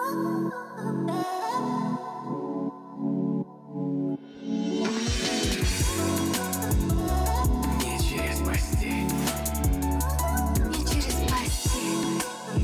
Не через постель. Не через постель.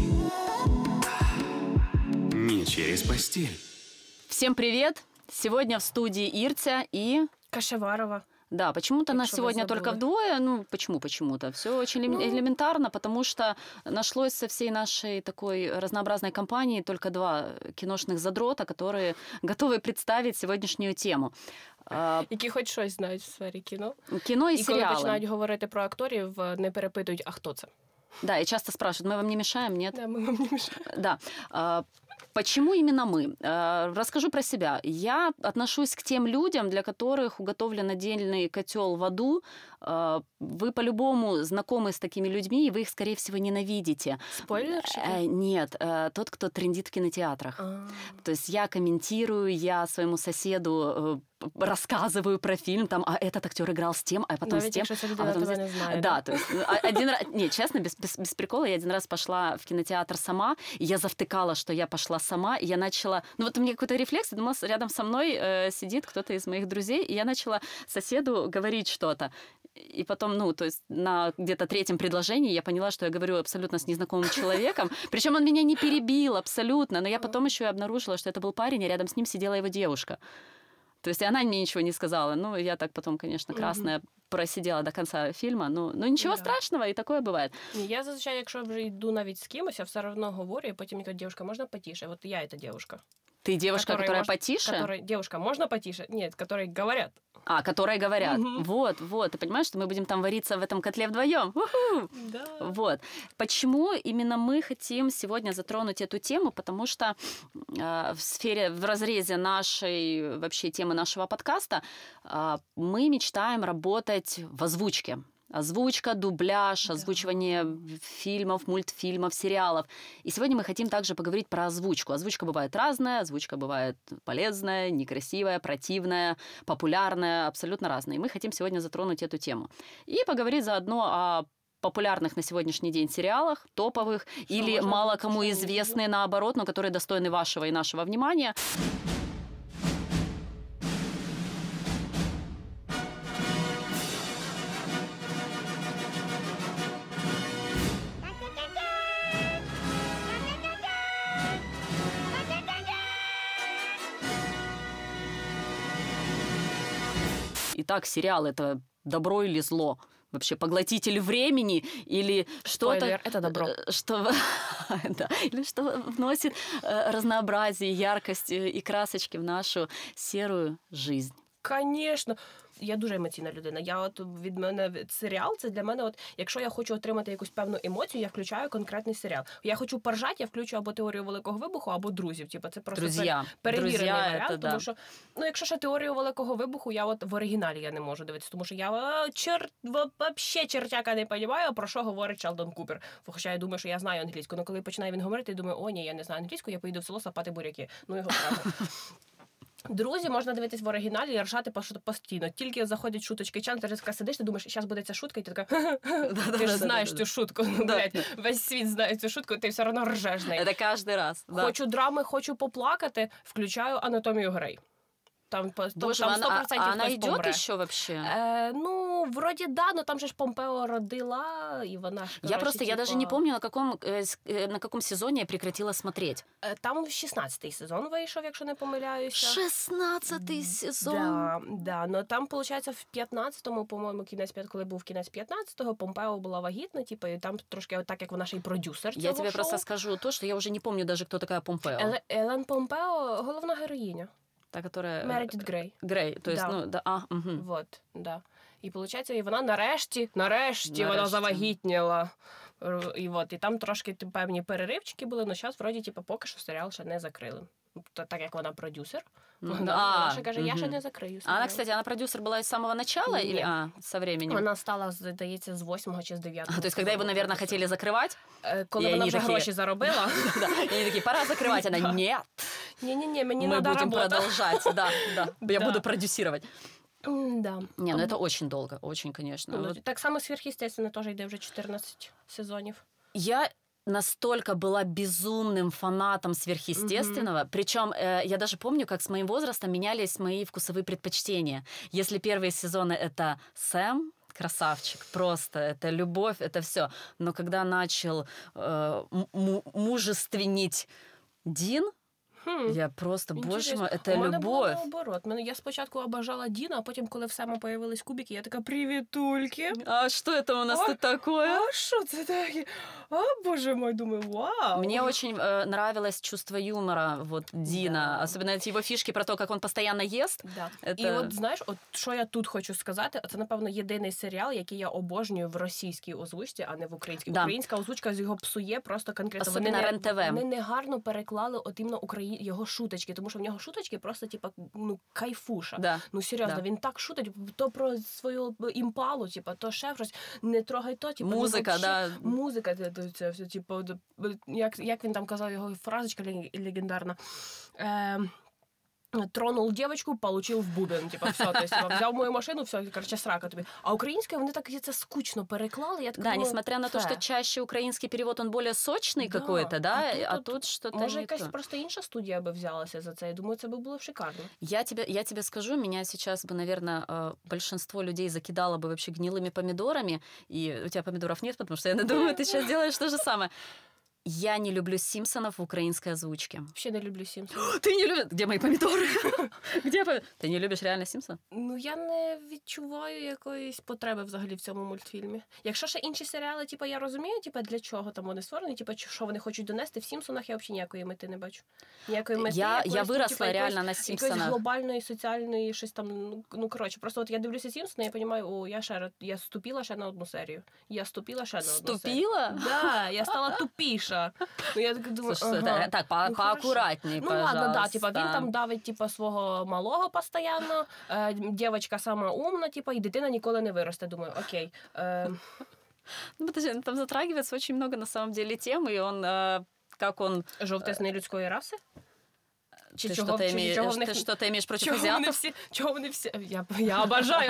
Не через постель. Всем привет! Сегодня в студии Иртя и... Кашеварова. Да, почему-то нас Якщо ви сегодня забули. только вдвое. Ну, почему-то? Все очень элементарно, потому что нашлось со всей нашей такой разнообразной компании только два киношных задрота, которые готовы представить сегодняшнюю тему. Які хоч щось знають в сфері кіно. Кино и І коли сериалы. починають говорити про акторів, не перепитують, а хто це? Да, и часто спрашивают, мы вам не мешаем, нет? Да, ми вам не мішаємо. Да. Почему именно мы? Расскажу про себя. Я отношусь к тем людям, для которых уготовлен отдельный котел в аду. Вы по-любому знакомы с такими людьми, и вы их, скорее всего, ненавидите. Спойлерщики? Нет, тот, кто трендит в кинотеатрах. То есть я комментирую, я своему соседу рассказываю про фильм, там, а этот актер играл с тем, а потом Навіть с тем. якщо ця людина тебе не знає. Да, то есть один раз... Не, честно, без прикола, я один раз пошла в кинотеатр сама, и я завтыкала, что я пошла сама, и я начала... Ну вот у меня какой-то рефлекс, я думала, рядом со мной сидит кто-то из моих друзей, и я начала соседу говорить что-то. И потом, ну, то есть на где-то третьем предложении я поняла, что я говорю абсолютно с незнакомым человеком. Причем он меня не перебил абсолютно, но я потом еще и обнаружила, что это был парень, и рядом с ним сидела его девушка. То есть и она мне ничего не сказала. Ну, я так потом, конечно, красная просидела до конца фильма. Ну ничего страшного, и такое бывает. Ні, я зазвичай, якщо вже йду навіть з кимось, я все одно говорю, і потім мені кажуть, дівчинка, можна потише? Вот я эта девушка. Ты девушка, которая потише? Девушка, можно потише? Нет, которые говорят. Которые говорят. Вот. Ты понимаешь, что мы будем там вариться в этом котле вдвоем? У-ху! Да. Вот. Почему именно мы хотим сегодня затронуть эту тему? Потому что в разрезе нашей вообще темы нашего подкаста мы мечтаем работать в озвучке. Озвучка, дубляж, озвучивание фильмов, мультфильмов, сериалов. И сегодня мы хотим также поговорить про озвучку. Озвучка бывает разная, озвучка бывает полезная, некрасивая, противная, популярная, абсолютно разная. И мы хотим сегодня затронуть эту тему. И поговорить заодно о популярных на сегодняшний день сериалах, топовых, или мало кому известные, наоборот, но которые достойны вашего и нашего внимания. Итак, сериал – это добро или зло? Вообще поглотитель времени или что-то... Спойлер, это добро. Или что вносит разнообразие, яркость и красочки в нашу серую жизнь. Конечно. Я дуже емоційна людина. Від мене серіал, це для мене, якщо я хочу отримати якусь певну емоцію, я включаю конкретний серіал. Я хочу поржати, я включу або «Теорію Великого Вибуху», або «Друзів». Це просто перевірений варіант, тому що, хоча ще «Теорію Великого Вибуху», я в оригіналі я не можу дивитися, тому що я вообще чертяка не розумію, про що говорить Шелдон Купер. Хоча я думаю, що я знаю англійську, але коли починає він говорити, я думаю, ні, я не знаю англійську, я поїду в село сапати буряки. Його право. «Друзі» можна дивитись в оригіналі і ржати постійно. Тільки заходять шуточки, ти така сидиш, ти думаєш, зараз буде ця шутка, і ти така, ти ж знаєш цю шутку. Весь світ знає цю шутку, і ти все одно ржеш з нею. Це кожен раз. Хочу драми, хочу поплакати, включаю «Анатомію Грей». Там 100% она хтось идет помре. еще вообще? Вроде да, но там же ж Помпео родила, и вона ж, Я даже не помню, на каком сезоне я прекратила смотреть. Там 16-й сезон вийшов, якщо не помиляюся. 16-й сезон? Да, но там, виходить, в 15-му, по-моєму, коли був кінець 15-го, Помпео була вагітна, і там трошки так, як вона ще й продюсер цього Я тебе шоу. просто скажу то, что я уже не помню даже, кто такая Помпео. Елен Помпео – головна героїня. Та, которая... Мередит Грей. Грей, то есть, угу. Вот, да. І, виходить, і вона нарешті вона завагітніла. І там трошки певні переривчики були, але зараз, вроді, поки що серіал ще не закрили. Так як вона продюсер, вона ще каже, я ще не закрию серіал. Она, кстати, продюсер была с самого начала или со временем? Вона стала, здається, з 8-го чи з 9-го. То есть, когда его, наверное, хотели закрывать? Коли вона вже гроші заробила. И они такие, пора закрывать. Она, нет. Не-не-не, мені мы надо будем работать. Продолжать, да. Я буду продюсировать. Да. Не, это очень долго, очень, конечно. Так само «Сверхъестественне» теж йде вже 14 сезонів. Я настолько была безумным фанатом сверхъестественного. Причем я даже помню, как с моим возрастом менялись мои вкусовые предпочтения. Если первые сезоны это Сэм, красавчик, просто это любовь, это все. Но когда начал мужественнить Дін, я просто, боже мой, это У мене було любовь. наоборот. Я спочатку обожала Діна, а потім, коли в Сема появились кубики, я така, привітульки. А что это у нас О, тут такое? А що це таке? А, боже мой, думаю, вау. Мне очень нравилось чувство юмора вот Дина, Да. особенно эти его фишки про то, как он постоянно ест. Да. Это... І от знаєш, от що я тут хочу сказати, це напевно єдиний серіал, який я обожнюю в російській озвучці, а не в українській. Да. Українська озвучка з його псує просто конкретно. Особливо РЕН-ТВ. Вони негарно переклали от іменно його шуточки, тому що в нього шуточки просто типа ну кайфуша. Да. Ну серйозно, Да. він так шутить, то про свою імпалу, типа, то ще щось, не трогай то, типа, Музика, ну, да. Музика, це все, типу, як він там казав, його фразочка легендарна. Тронул девочку, получил в бубен. Типа, все, то есть, взяв мою машину, все, короче, срака тобі. А українською вони так це скучно переклали. Я така, Да, думаю, несмотря на то, «Фе». что чаще украинский перевод, он более сочный Да, какой-то, да, а а тут тут что-то Може, не якась то. просто інша студія би взялася за це. Я думаю, це би було шикарно. Я тебе скажу, меня сейчас бы, наверное, большинство людей закидало бы вообще гнилыми помидорами, и у тебя помидоров нет, потому что я думаю, ты сейчас делаешь то же самое. Я не люблю Симпсонов в украинской озвучке. Ще не люблю Сімпсонів. Ты не любишь? Где мои помидоры? Где Ты не любишь реально Симпсон? Ну, я не відчуваю якоїсь потреби взагалі в цьому мультфільмі. Якщо ще інші серіали, типу, я розумію, типу, для чого там вони створені, типу, що вони хочуть донести, в Сімпсонах я взагалі ніякої мети не бачу. Ніякої мети. Я якоїсь, выросла типу, реально на якоїсь Симпсонах. глобальної, соціальної, щось там, ну, коротше, просто от я дивлюся Сімпсони, я розумію, о, я ступила ще на одну серію. Я ступила ще на одну серію. Ступила? Да, я стала тупіша. Ну, я так думаю, Слушай, ага. так, Ну, поаккуратней, Ну пожалуйста. ладно, да, типа він там давить типа свого малого постійно, дівчинка сама умна, типа, і дитина ніколи не виросте. Думаю, окей. Ну, подожди, там затрагивается очень много на самом деле тем, и он, как он... Жовтець не людської раси? Чи Ты чого- что-то чи имеешь, чого в них- ты что-то имеешь против Чого вони азиатов? всі? Чого вони всі? Я обожаю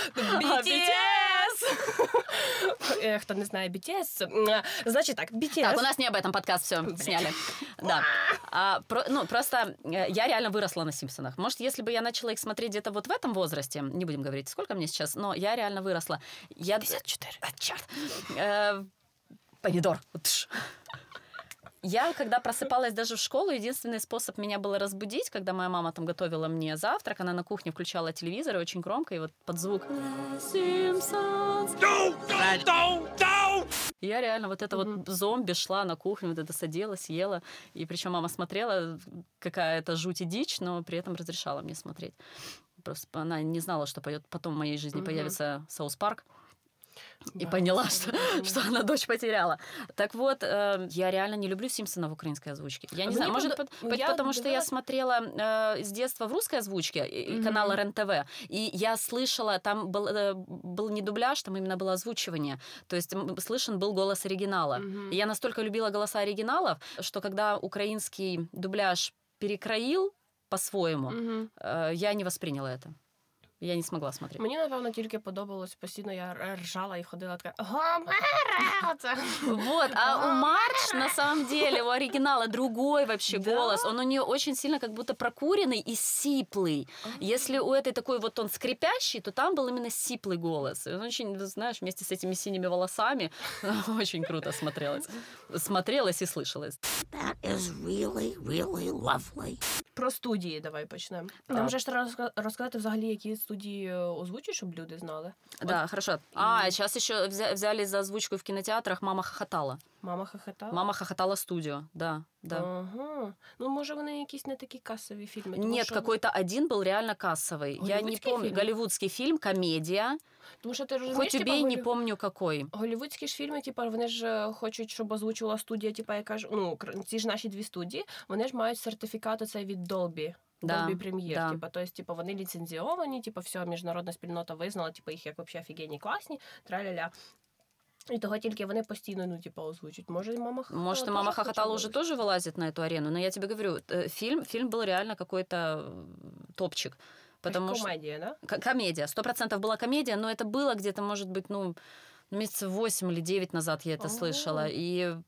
BTS! Хто не знає BTS, значить так, BTS. Так, у нас не об этом подкаст, все, сняли. Да. Просто я реально выросла на Симпсонах. Может, если бы я начала их смотреть где-то вот в этом возрасте, не будем говорить, сколько мне сейчас, но я реально выросла. 54. Черт. Помидор. Тш. Я, когда просыпалась даже в школу, единственный способ меня было разбудить, когда моя мама там готовила мне завтрак, она на кухне включала телевизор и очень громко, и вот под звук «Симпсонс». Я реально вот это вот зомби шла на кухню, вот это садилась, ела, и причем мама смотрела, какая-то жуть и дичь, но при этом разрешала мне смотреть. Просто она не знала, что потом в моей жизни появится Саус Парк. И Да, поняла, абсолютно. что она дочь потеряла. Так вот, я реально не люблю Симпсона в украинской озвучке. Я не знаю, может, потому что я смотрела с детства в русской озвучке канала РЕН-ТВ, и я слышала, там был не дубляж, там именно было озвучивание. То есть слышен был голос оригинала. И я настолько любила голоса оригиналов, что когда украинский дубляж перекроил по-своему, я не восприняла это. Я не смогла смотреть. Мені, напевно, тільки подобалось, постійно я ржала і ходила така «Гомера!» Оце. Вот, а у Мардж, на самом деле, у оригинала другой вообще Да? голос. Он у нее очень сильно как будто прокуренный и сиплый. Если у этой такой вот он скрипящий, то там был именно сиплый голос. И он очень, знаешь, вместе с этими синими волосами очень круто смотрелось. Смотрелось и слышалось. That is really, really lovely. Про студії давай почнемо. Нам вже ж розказати взагалі, які студії озвучують, щоб люди знали. Да, хорошо. Сейчас еще взяли за озвучку в кинотеатрах «Мама хохотала». Мама хохотала? «Мама хохотала» студио, да. Ага. Ну, може, вони якісь не такі касові фільми. Тому Нет, що... какой-то один был реально кассовый. Я не Голливудский помню. фильм? Голливудский фильм, комедия. Тому що ти розумієш, Хоть типа, убей, не помню какой. голівудські ж фільми, типа, вони ж хочуть, щоб озвучувала студія, типа, яка ж, ну, ці ж наші дві студії, вони ж мають сертифікат оцей від Dolby. Да, Dolby Premiere, да. типа, то есть, типа, вони ліцензіовані, типа, все, міжнародна спільнота визнала, типа, їх як вообще офігенні, класні, траля-ля. І того тільки вони постійно, ну, типа, озвучують. Може, мама хохотала. Может, и «Мама хохотала» уже тоже вылазит на эту арену, но я тебе говорю, фильм был реально какой-то топчик. Потому что... Комедія, да? Комедия. 100% была комедия, но это было где-то, может быть, месяцев 8 или 9 назад я это слышала. И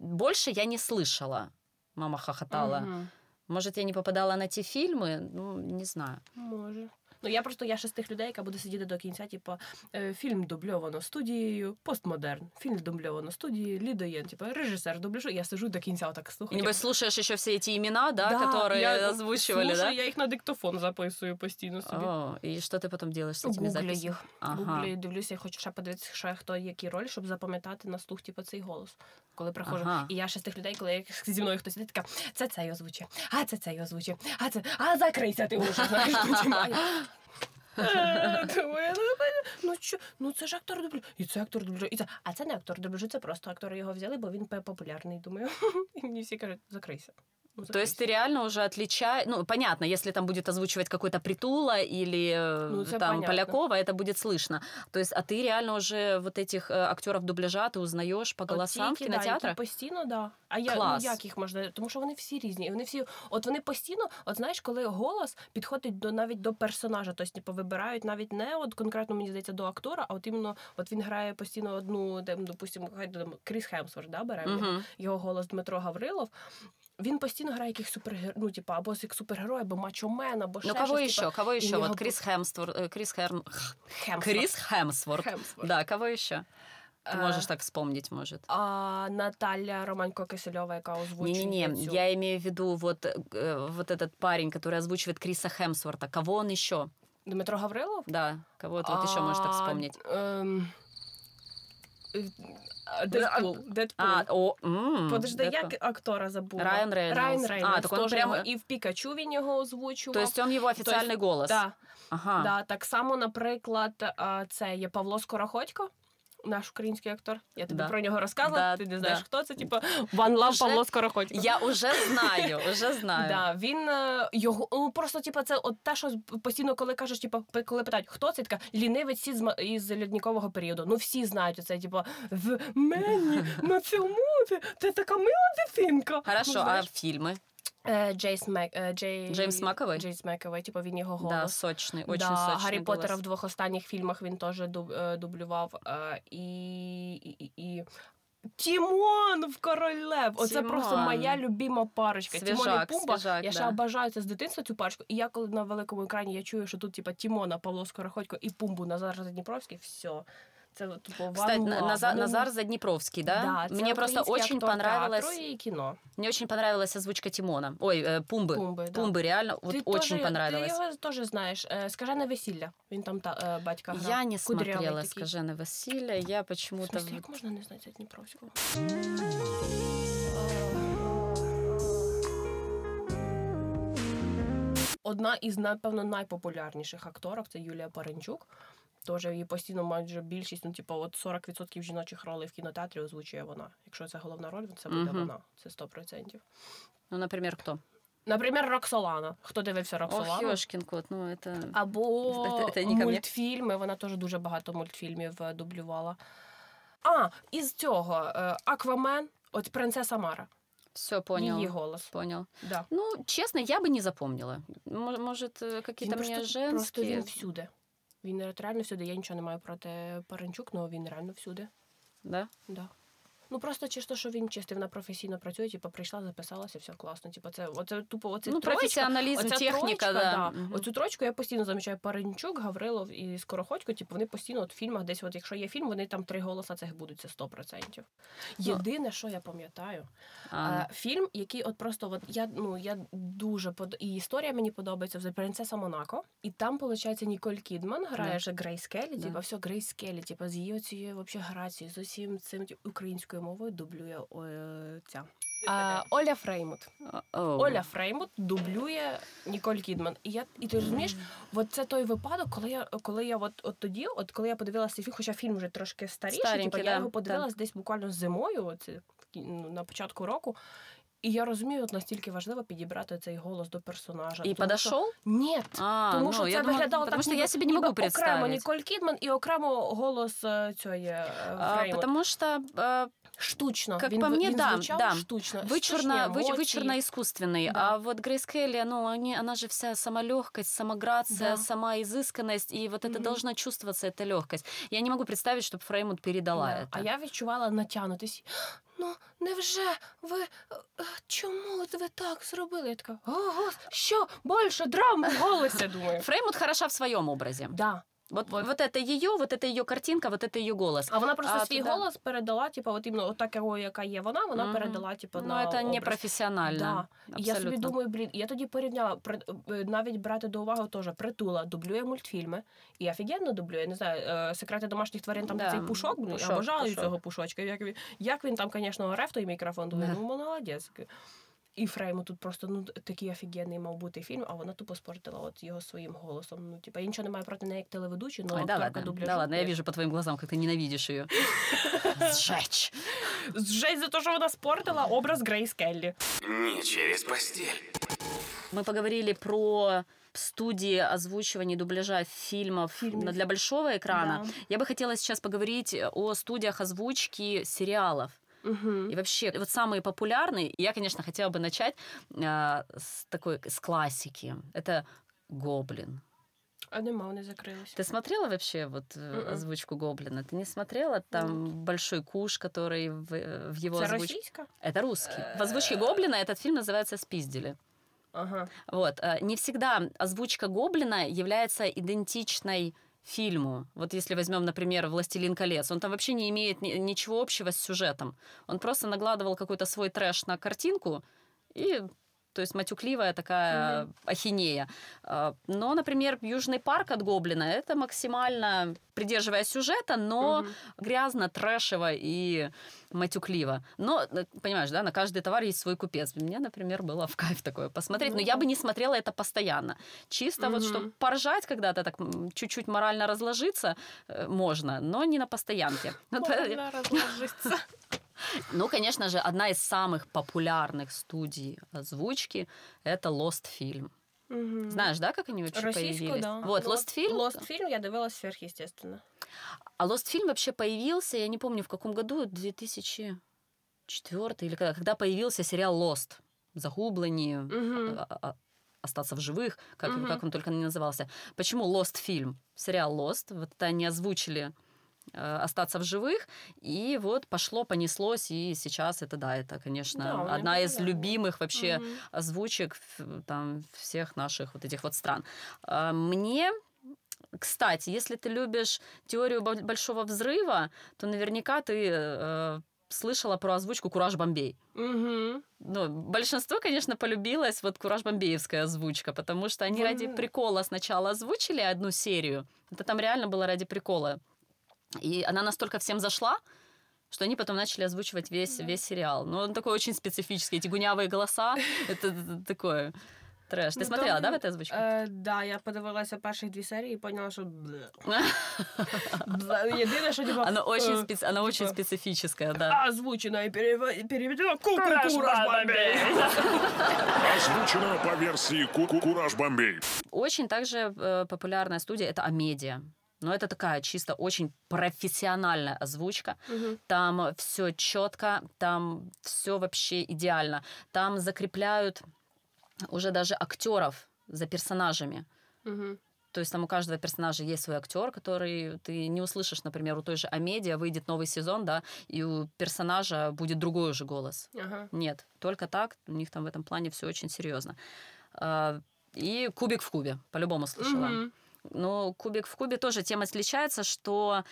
больше я не слышала. Мама хохотала. Мгм. Может, я не попадала на ті фільми? Ну, не знаю. Може. Ну, я ще з тих людей, яка буде сидіти до кінця, типу, фільм дубльовано студією, постмодерн, фільм дубльовано студією, Лідоєн, типу, режисер дублюжу, я сижу до кінця отак слухаю. Небось, слушаешь еще все эти имена, да, Да, которые я озвучивали, слушаю, да? я їх на диктофон записую постійно собі. О, и что ты потом делаешь с этими Гуглю записями? їх. Ага. Гуглю, дивлюся, я хочу ще подивитися, ще хто який роль, щоб запам'ятати на слух, типу, цей голос, коли приходжу. Ага. І я ще з тих людей, коли зі мною хтось сидить, така, це цей озвучує, а це цей озвучує, закрийся ти уже, знаєш, починаю. Думаю, ну це ж актор дубляжу, і це актор дубляжу, і це. А це не актор дубляжу, це просто актори його взяли, бо він популярний, думаю. І мені всі кажуть, закрийся. Ну, То есть ты реально уже отличаешь... Ну, понятно, если там будет озвучивать какой-то Притула или Ну, это там понятно. Полякова, это будет слышно. То есть, а ты реально уже вот этих актеров дубляжа ты узнаешь по голосам в Ті, які, кинотеатрах? які постійно, да. А я, Клас. ну, як їх можна? Тому що вони всі різні. І вони всі, от вони постійно, от знаєш, коли голос підходить навіть до персонажа, тобто, типу, вибирають навіть не от конкретно, мені здається, до актора, а от іменно, от він грає постійно одну, допустимо, Кріс Хемсворт, да, беремо Мгм. його голос Дмитро Гаврилов. Він постійно грає яких супергероїв, ну, типу, або як супергерой, або мачомен, або ще Ну, кого щось, еще? типу, Кого і еще? в Вот нього Крис Хемсворт. Хемсворт. Хемсворт. Да, кого еще? Ты Э, можешь так вспомнить, может. А Наталя Романько-Кисельова, яка озвучує Не-не-не, цю. я имею в виду вот этот парень, который озвучивает Криса Хемсворта. Кого он еще? Дмитро Гаврилов? Да, кого ты вот еще можешь так вспомнить? Дедпул. Подожди, Дэдпул. як актора забула? Райан Рейнольдс. Райан Рейнольдс. А, так он теж прямо- його і в Пікачу він його озвучував. То есть он его официальный голос? Да, Ага. да, так само, наприклад, це є Павло Скороходько, наш український актор. Я тобі Да. про нього розказувала, Да, ти не знаєш, да. хто це, типу, One Love Уже- Павло Скороходько. Я уже знаю, уже знаю. Да, він його просто типу, це от те, що постійно, коли кажеш, типу, коли питають, хто це, така лінивець із льодникового періоду. Ну всі знають оце, типу, в мені на цьому це така мила дитинка. Хорошо, Ну, а знаєш, фильмы? Джеймс Маковей, Джеймс Маковей? типу він його голос. Да, сочный, очень Да, сочный Гаррі голос. Поттера в 2 останніх фільмах він теж дублював. І Тімон в Король Лев. Оце Тімон. просто моя любима парочка. Тімон і Свіжак, Пумба. свіжак, Я ще да. обожаю це з дитинства цю парочку. І я коли на великому екрані я чую, що тут типа Тімона, Павло Скороходько і Пумбу Назар Задніпровський, все. Це типу Кстати, one love. Назар Задніпровський, да? Да, це Мне просто український очень актор понравилось. театру і кіно. Мне очень понравилась озвучка Тимона. Ой, Пумбы. Пумби, да. Пумбы, реально, вот Ти очень теж- понравилось. Ти його теж знаєш. «Скажене весілля». Він там батька грав. Я не Кудрявий смотрела такий. «Скажене весілля», я В почему-то... смысле, як можна не знати Дніпровського? Одна із, напевно, найпопулярніших акторок – це Юлія Паренчук. Теж її постійно майже більшість, ну, типу, от 40% жіночих ролей в кінотеатрі озвучує вона. Якщо це головна роль, це буде Мгм. вона. Це 100%. Ну, например, кто? Наприклад, Роксолана. Хто дивився Ох, Роксолану? ёшкин кот, ну это... Або Це не ко мне. мультфільми. Вона теж дуже багато мультфільмів дублювала. Із цього Аквамен, от принцеса Мара. Все, понял. Її голос. Понял. Да. Ну, честно, я бы не запомнила. Может, какие-то мне Просто женские... він всюди. Він реально всюди. Я нічого не маю проти Паренчук, але він реально всюди. Да? Да. Ну просто чисто, що він чистий, вона професійно працює, типу, прийшла, записалася, все класно. Типу, оце тупо, оце Ну, троєчка, професіоналізм, оця техніка, троєчка, да. да. Мгм. Оцю трочку я постійно замічаю Паренчук, Гаврилов і Скороходько, типу, вони постійно от в фільмах десь, от якщо є фільм, вони там 3 голоса цих будуть, це 100%. Єдине, що я пам'ятаю, фільм, який от просто, от я дуже, і історія мені подобається, це «Принцеса Монако», і там, виходить, Ніколь Кідман грає же Грейс Келлі, Да. типу, все, Грейс Келлі, типу, з її оцією вообще грацією, з усім цим українською мовою дублює ця. Оля Фреймут. Оля Фреймут дублює Ніколь Кідман. І ти розумієш, от це той випадок, коли я от тоді, коли я подивилася цей фільм, хоча фільм вже трошки старіший, Старенький, я да, його подивилась десь буквально зимою, на початку року. І я розумію, от настільки важливо підібрати цей голос до персонажа. И Тому подошел? що- Ні, тому що я це думала, виглядало потому так, что я себе не могу окремо представить. Ніколь Кідман і окремо голос цієї Фреймут. Потому что Штучно. как він, по мне, він да, звучав да. штучно. вычурно искусственный. Да. А вот Грейс Келли, ну, она же вся сама легкость, сама грация, Да. сама изысканность, и вот это Мгм. должна чувствоваться, эта легкость. Я не могу представить, чтобы Фреймут передала Да. это. А я відчувала натягнутись. ну, невже ви, чому ви так зробили? Я така, ого, що, більше драм в голосі, думаю. Фреймут хороша в своем образе. Да. Вот это ее картинка, вот это ее голос. А вона просто свій туда- голос передала, типу, от іменно отак, яка є вона Мгм. передала, типу, Ну, на это образ. непрофессионально. Да. І я собі Абсолютно. думаю, блін, я тоді порівняла, навіть брати до уваги теж, Притула дублює мультфільми, і офігенно дублює, я не знаю, «Секрети домашніх тварин», там Да. цей Пушок, блін, я Пушок, обожаю Пушок. цього Пушочка, як він там, звісно, оре в той мікрофон, думаю, Да. ну, молодець. І Фрейму тут просто, ну, такий офігенний мав бути фільм, а вона тупо спортила от його своїм голосом. Ну, типа, я нічого не маю проти неї як телеведучий, але Ой, да акторка ладно, дубляжу. да ладно, я вижу по твоим глазам, как ты ненавидишь ее. Сжечь. Жесть за те, що вона спортила образ Грейс Келлі. Не через постель. Мы поговорили про студии озвучивания и дубляжа фильмов для большого экрана. Да. Я бы хотела сейчас поговорить о студиях озвучки сериалов. Угу. И вообще, вот самые популярные, я, конечно, хотела бы начать с классики. Это «Гоблин». А нема, вони закрилися. Ты смотрела вообще вот озвучку «Гоблина»? Ты не смотрела? Там большой куш, который в его Це озвучке... російська? Это русский. В озвучке «Гоблина» этот фильм называется «Спиздили». Ага. Вот. Не всегда озвучка «Гоблина» является идентичной фильму. Вот если возьмем, например, «Властелин колец», он там вообще не имеет ничего общего с сюжетом. Он просто накладывал какой-то свой трэш на картинку и... То есть матюкливая такая ахинея. Но, например, «Южный парк» от «Гоблина» — это максимально придерживая сюжета, но грязно, трэшево и матюкливо. Но, понимаешь, да, на каждый товар есть свой купец. Мне, например, было в кайф такое посмотреть, но я бы не смотрела это постоянно. Чисто вот, чтобы поржать когда-то, так чуть-чуть морально разложиться можно, но не на постоянке. Морально розложиться. Ну, конечно же, одна из самых популярных студий озвучки — это Lost Film. Знаешь, да, как они вообще Російську, появились? да. Вот, Lost Film. Lost Film я дивилась сверхъестественно. А Lost Film вообще появился, я не помню, в каком году, 2004 или когда появился сериал Lost. Загубление, остаться в живых, как он только не назывался. Почему Lost Film? Сериал Lost. Вот это они озвучили остаться в живых, и вот пошло, понеслось, и сейчас это, да, это, конечно, Да, одна из популярна. любимых вообще озвучек там всех наших вот этих вот стран. Мне, кстати, если ты любишь теорию большого взрыва, то наверняка ты слышала про озвучку «Кураж Бомбей». Угу. Ну, большинство, конечно, полюбилось вот «Кураж-бомбеевская» озвучка, потому что они ради прикола сначала озвучили одну серию. Это там реально было ради прикола. И она настолько всем зашла, что они потом начали озвучивать весь сериал. Но он такой очень специфический. Эти гунявые голоса, это такое трэш. Ты смотрела, да, в этой озвучке? Да, я подивилася перших 2 серії і поняла, що єдине, що типа... Она очень специфическая, да. Озвучена і переведена «Кураж Бомбей». Озвучено по версии «Кураж Бомбей». Очень также популярная студия — это Амедиа. Но это такая чисто очень профессиональная озвучка. Там все четко, там все вообще идеально. Там закрепляют уже даже актеров за персонажами. То есть там у каждого персонажа есть свой актер, который ты не услышишь, например, у той же Амедиа выйдет новый сезон, да, и у персонажа будет другой уже голос. Нет, только так. У них там в этом плане все очень серьезно. И «Кубик в кубе» по-любому слышала. Но «Кубик в кубе» тоже тем отличается, что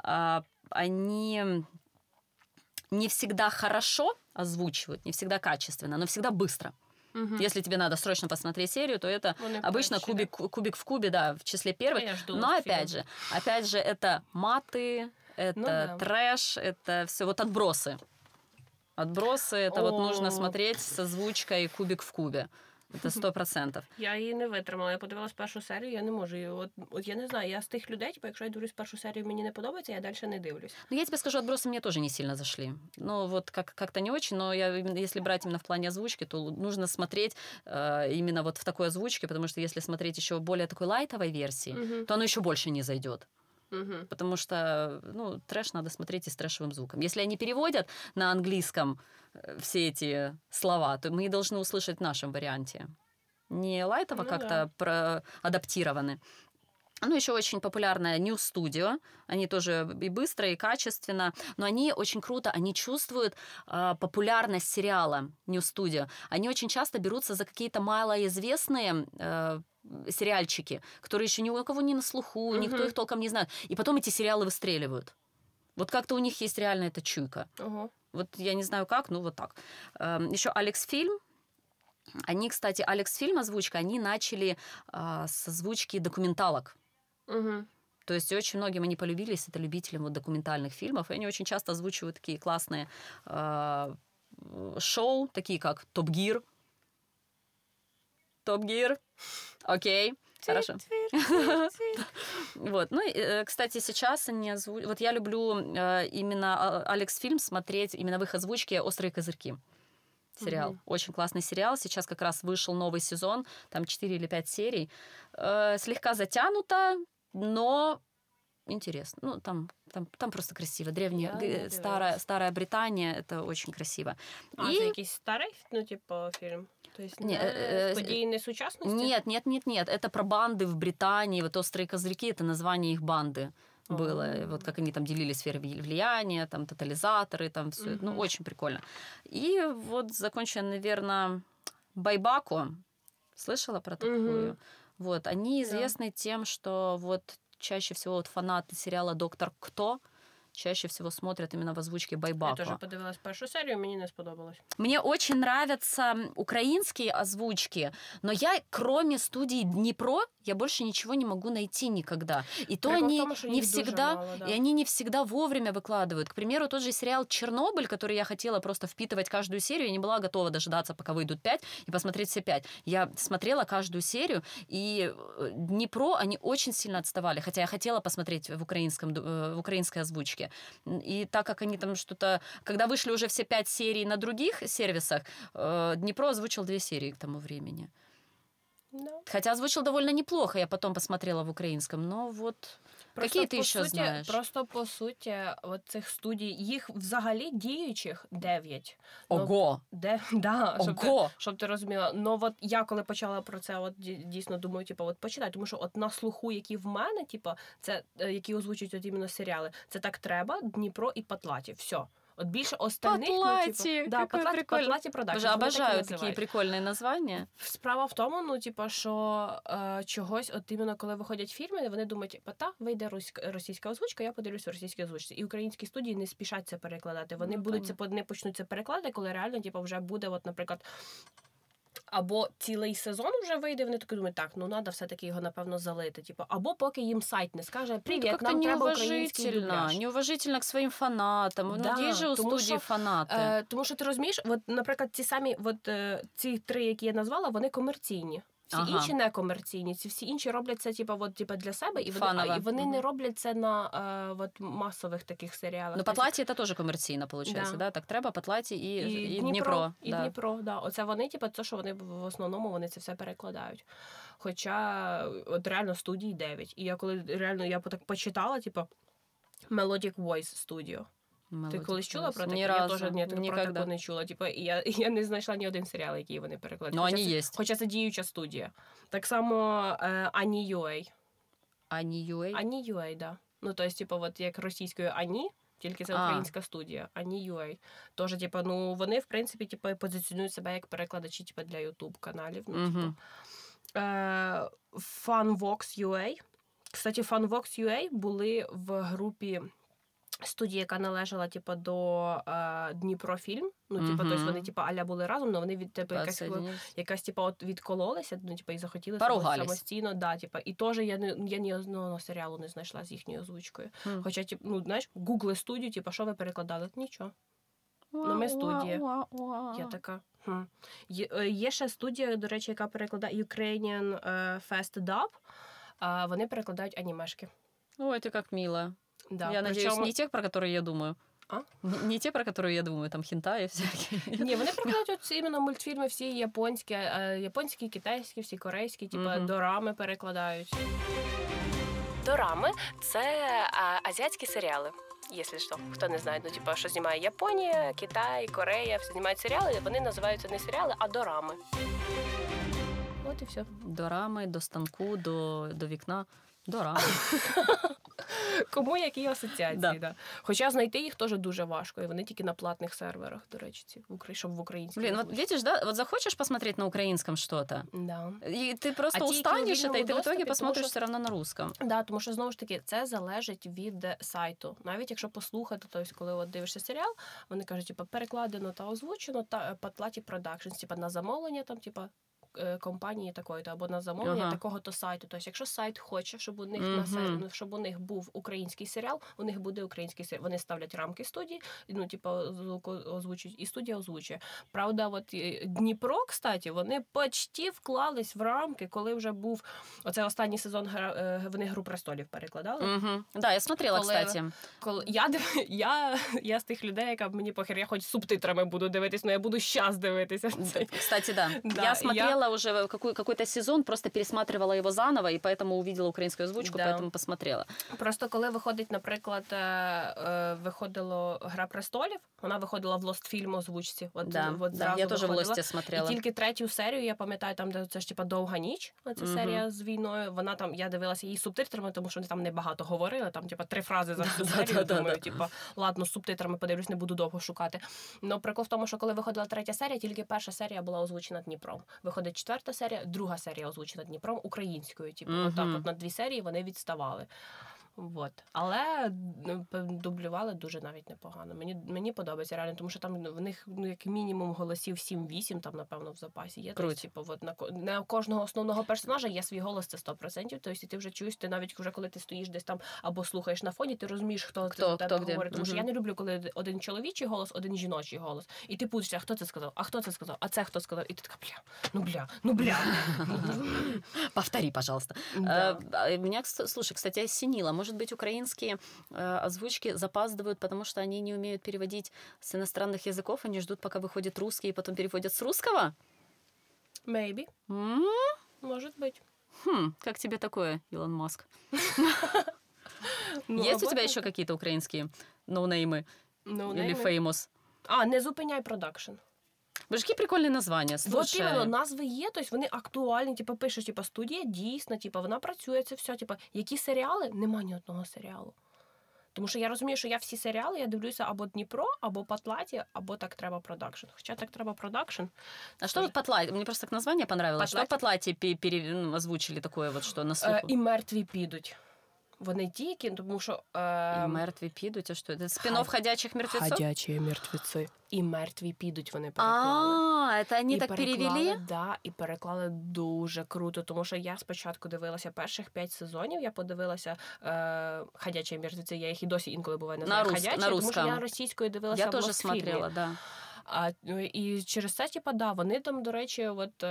они не всегда хорошо озвучивают, не всегда качественно, но всегда быстро. Если тебе надо срочно посмотреть серию, то это обычно «Кубик в кубе», да, в числе первых. Но опять же, это маты, это трэш, это все вот отбросы. Отбросы, это вот нужно смотреть с озвучкой «Кубик в кубе». Це 100%. Я її не витримала. Я подивилась першу серію, я не можу. От я не знаю, я з тих людей, типу, якщо я дивлюсь першу серію, мені не подобається, я далі не дивлюсь. Ну, я тебе скажу, «Отбросы» мне тоже не сильно зашли. Ну, вот как-то не очень, но если брать именно в плане озвучки, то нужно смотреть именно вот в такой озвучке, потому что если смотреть еще более такой лайтовой версии, то оно еще больше не зайдет. Потому что, ну, трэш надо смотреть и с трэшевым звуком. Если они переводят на английском все эти слова, то мы должны услышать в нашем варианте. Не лайтово как-то адаптированы, Ну, еще очень популярная New Studio. Они тоже и быстро, и качественно. Но они очень круто, они чувствуют популярность сериала New Studio. Они очень часто берутся за какие-то малоизвестные сериальчики, которые еще ни у кого не на слуху, никто их толком не знает. И потом эти сериалы выстреливают. Вот как-то у них есть реально эта чуйка. Вот я не знаю как, ну вот так. Еще Алекс Фильм. Они, кстати, Алекс Фильм озвучка, они начали с озвучки документалок. То есть очень многим они полюбились, это любителям вот документальных фильмов, и они очень часто озвучивают такие классные шоу, такие как «Топ Гир». «Топ Гир», окей, хорошо. Вот, ну, и, кстати, сейчас они озвучивают... Вот я люблю именно Алекс Фильм смотреть, именно в их озвучке «Острые козырьки». Сериал. Очень классный сериал. Сейчас как раз вышел новый сезон, там 4 или 5 серий. Слегка затянуто, но интересно. Ну, там просто красиво. Древняя, старая Британия, это очень красиво. А це якийсь старий, ну, типу, фільм? Тобто не події не сучасності? Нет. Это про банды в Британии. Вот «Острые козырьки» — это название их банды было. Вот как они там делили сферы влияния, там тотализаторы, там все. Ну, очень прикольно. И вот закончу, наверное, Байбако. Слышала про такую? Вот, они известны тем, что вот чаще всего вот фанаты сериала «Доктор Кто» чаще всего смотрят именно в озвучке Байбако. Я тоже подивилась першу серію, мені не сподобалось. Мне очень нравятся украинские озвучки, но я, кроме студии Днепро, я больше ничего не могу найти никогда. И то Прикол они в тому, що не їх всегда, дуже мало, да. и они не всегда вовремя выкладывают. К примеру, тот же сериал «Чернобыль», который я хотела просто впитывать каждую серию, я не была готова дожидаться, пока выйдут 5, и посмотреть все 5. Я смотрела каждую серию, и Днепро, они очень сильно отставали, хотя я хотела посмотреть в украинской озвучке. И так как они там что-то... Когда вышли уже все 5 серий на других сервисах, Днепро озвучил 2 серии к тому времени. No. Хотя озвучил довольно неплохо, я потом посмотрела в украинском, но вот... Просто, какие ты еще знаешь? Просто, по суті, от цих студій, їх взагалі діючих 9. Ого! Да, Ого! Щоб ти розуміла. Ну, от я коли почала про це, от дійсно думаю, типу, от почитай, тому що от на слуху, які в мене, типу, це, які озвучують от іменно серіали, це «Так треба», «Дніпро» і «Патлаті». Все. От більше остальних... Патлаті! Ну, типу, да, Патлаті продакшн. Боже, обожаю такі прикольні названня. Справа в тому, ну, типу, що чогось, от іменно коли виходять фільми, вони думають, типу, вийде російська озвучка, я подивлюсь в російській озвучці. І українські студії не спішать це перекладати. Вони не почнуть це перекладати, коли реально, типу, вже буде, от, наприклад, або цілий сезон вже вийде, вони такі думають, так, ну, треба все-таки його, напевно, залити. Типу, або поки їм сайт не скаже, привіт, нам треба український дубляж. Неуважительно к своїм фанатам. Да, є ж у студії фанати. Тому що ти розумієш, от, наприклад, ці самі, от, ці 3, які я назвала, вони комерційні. Всі інші не комерційні, ці всі інші роблять це типу, для себе, і вони не роблять це на от, масових таких серіалах. Ну, Патлаті це теж комерційно, виходить, да? Так треба, Патлаті і Дніпро. І да. Дніпро, да. Оце вони, типу, це, що вони в основному вони це все перекладають. Хоча от реально студій 9. І я коли реально я так почитала, типу, Melodic Voice Studio. Ти колись чула про таке? Я теж про таке не чула. Типу, я не знайшла ні один серіал, який вони перекладають. Ну, вони є. Хоча це діюча студія. Так само Ані.ua. Ані.ua? Ані.ua, да. Ну, тобто, типу, от як російською Ані, тільки це українська студія. Ані.ua. Тож, типу, ну, вони, в принципі, типу, позиціонують себе як перекладачі, типу, для YouTube-каналів. Ну, типу. Funvox.ua. Кстати, Funvox.ua були в групі студії, яка належала, типу, до Дніпрофільм. Ну, типу, тобто вони, типу, аля були разом, але вони від типу, якась типу, от відкололися, ну, типу, і захотіли самостійно, да, типу. І теж я ні одного серіалу не знайшла з їхньою озвучкою. Хоча, типу, ну, знаєш, гугли студію, типу, що ви перекладали? Нічого. Ну, ми студія. Я така. Є ще студія, до речі, яка перекладає Ukrainian Fast Dub. Вони перекладають анімешки. Ой, ти як мило. Да, я надеюсь, не тех, про которые я думаю. А? Не те, про которые я думаю, там хентаї всякі. Ні, вони перекладають от іменно мультфільми всі японські, китайські, всі корейські, типу дорами перекладають. Дорами – це азіатські серіали. Якщо що, хто не знає, ну, типу, що знімає Японія, Китай, Корея, все знімають серіали, вони називаються не серіали, а дорами. От і все. До рами, до станку, до вікна. Дорого. Кому які асоціації, Да. да. Хоча знайти їх теж дуже важко, і вони тільки на платних серверах, до речі, щоб в українській. Блин, вот видишь, да, вот захочешь посмотреть на украинском что-то, Да. и ты просто А те, які у устанешь это, и вільному ты в итоге доступі, посмотришь тому що- все равно на русском. Да, тому що знову ж таки це залежить від сайту. Навіть якщо послухати, тобто, коли от дивишся серіал, вони кажуть, типу, перекладено та озвучено та по платі продакшнс, типу на замовлення там, типу, компанії такої-то або на замовлення Ага. такого-то сайту. Тобто, якщо сайт хоче, щоб у них Мгм. щоб у них був український серіал, у них буде український серіал. Вони ставлять рамки студії, ну типу, звук озвучують, і студія озвучує. Правда, от Дніпро, кстати, вони почти вклались в рамки, коли вже був оце останній сезон вони «Гру престолів» перекладали. Мгм. Да, я смотрела, Коли- кстати. Коли я з тих людей, яка мені похер, я хоч з субтитрами буду дивитись, але я буду щас дивитися. Кстати, да. Да, Я смотрела уже какой-то сезон, просто пересматривала его заново, и поэтому увидела украинскую озвучку, Да. поэтому посмотрела. Просто коли виходить, наприклад, виходило «Гра престолів», вона виходила в «Лостфільм» озвучці. От, Да, от да, зразу я тоже в виходила. «Лосте» смотрела. І тільки третю серію, я пам'ятаю, там, де це ж типа «Довга ніч», оця серія з війною, вона там, я дивилася її з субтитрами, тому що вони там небагато говорили, там типа 3 фрази за всю серію, думаю, типа, ладно, з субтитрами подивлюсь, не буду довго шукати. Но прикол в тому, що коли виходила третя серія, тільки перша серія була озвучена Дніпром. Виходить четверта серія, друга серія озвучена Дніпром українською. Типу, отак от на 2 серії вони відставали. Вот. Але дублювали дуже навіть непогано. Мені подобається реально, тому що там в них як мінімум голосів 7-8, там, напевно, в запасі є. Круто. Типу, от на кожного основного персонажа є свій голос, це 100%. Тобто ти вже чуєш, ти навіть вже коли ти стоїш десь там або слухаєш на фоні, ти розумієш, хто за тебе де. говорить. Тому що я не люблю, коли один чоловічий голос, один жіночий голос. І ти путаєшся, а хто це сказав, а це хто сказав. І ти така, бля. Повтори, пожалуйста. Да. Меня, слушай, кстати, осенило. Может быть, украинские озвучки запаздывают, потому что они не умеют переводить с иностранных языков, они ждут, пока выходит русский, и потом переводят с русского? Maybe. М? Может быть. Как тебе такое, Илон Маск? Ну, Есть у або тебя так. еще какие-то украинские ноунеймы Ну, или нейми. феймос? Не зупиняй продакшн. Боже, які прикольні названня, Вот слушай. іменно, назви є, тобто вони актуальні, типу, пишеш, типу, студія дійсна, типу, вона працює, це все, типу, які серіали? Нема ні одного серіалу. Тому що я розумію, що я всі серіали, я дивлюся або Дніпро, або Патлаті, або Так треба продакшн. Хоча Так треба продакшн. А что вот Патлати? Мне просто так название понравилось. Что Патлати? Патлати озвучили такое вот, что на слуху? І мертві підуть. Вони тільки, тому що... И мертві підуть, а что это? Спин-офф «Ходячих мертвецов»? Ходячі мертвеці. І мертві підуть, вони переклали. Это они так перевели? Да, і переклали дуже круто, тому що я спочатку дивилася перших 5 сезонів, я подивилася «Ходячі мертвеці», я їх і досі інколи буває називаю «Ходячі», на тому що русском. я російською дивилася Я в тоже «Лостфільмі». смотрела, да. І через це, типа, да, вони там, до речі, от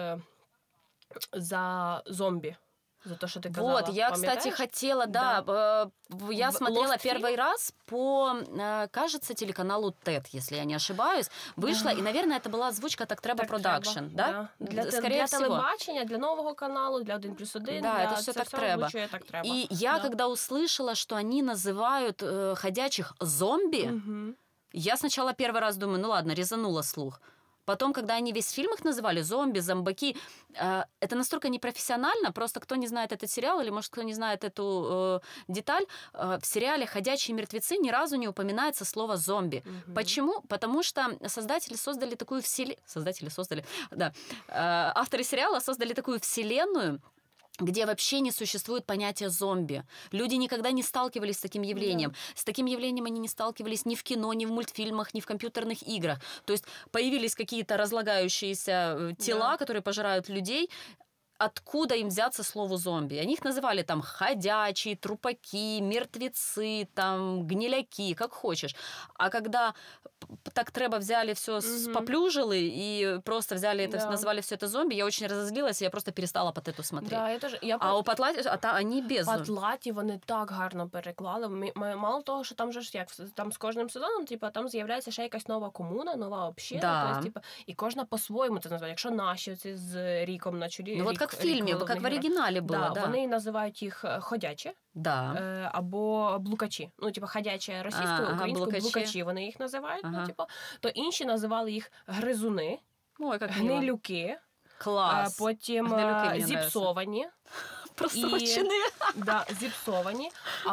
за зомбі. За то, что ты казала. Вот, я, кстати, Пам'ятаєш? хотела, да, я В смотрела Лостфильм? первый раз по, кажется, телеканалу ТЭД, если я не ошибаюсь, вышла, и, наверное, это была озвучка «Так треба продакшн», да? Для телебачення, для нового каналу, для 1+1. Да, для... это все так треба. Так треба. И я, когда услышала, что они называют ходячих зомби, я сначала первый раз думаю, ну ладно, резанула слух. Потом, когда они весь фильм их называли, зомби, зомбаки, это настолько непрофессионально, просто кто не знает этот сериал, или, может, кто не знает эту деталь, в сериале «Ходячие мертвецы» ни разу не упоминается слово «зомби». Почему? Потому что создатели создали такую вселенную... Авторы сериала создали такую вселенную, где вообще не существует понятия зомби. Люди никогда не сталкивались с таким явлением. Да. С таким явлением они не сталкивались ни в кино, ни в мультфильмах, ни в компьютерных играх. То есть появились какие-то разлагающиеся тела, которые пожирают людей. Откуда им взяться слову зомби? Они их называли там ходячие, трупаки, мертвецы, там гниляки, как хочешь. А когда так треба взяли все, поплюжили и просто взяли это, назвали все это зомби, я очень разозлилась, и я просто перестала Патлату смотреть. Да, я теж, а у Патлаті, они без. Патлаті вони так гарно переклали. Мало того, що там же ж як там з кожним сезоном, типу, там з'являється ще якась нова комуна, нова община, да. тобто, типу, і кожна по-своєму це називає. Якщо наші оці з Ріком на чолі, ну, от як в фільмі, як в оригіналі було, да. Вони називають їх ходячі. Да. Або блукачі. Ну, типу, ходячі російською, українською, блукачі вони їх називають. Ну, типу, то інші називали їх гризуни, ой, як гнилюки, клас. Потім зіпсовані. Просрочені. Да, зіпсовані,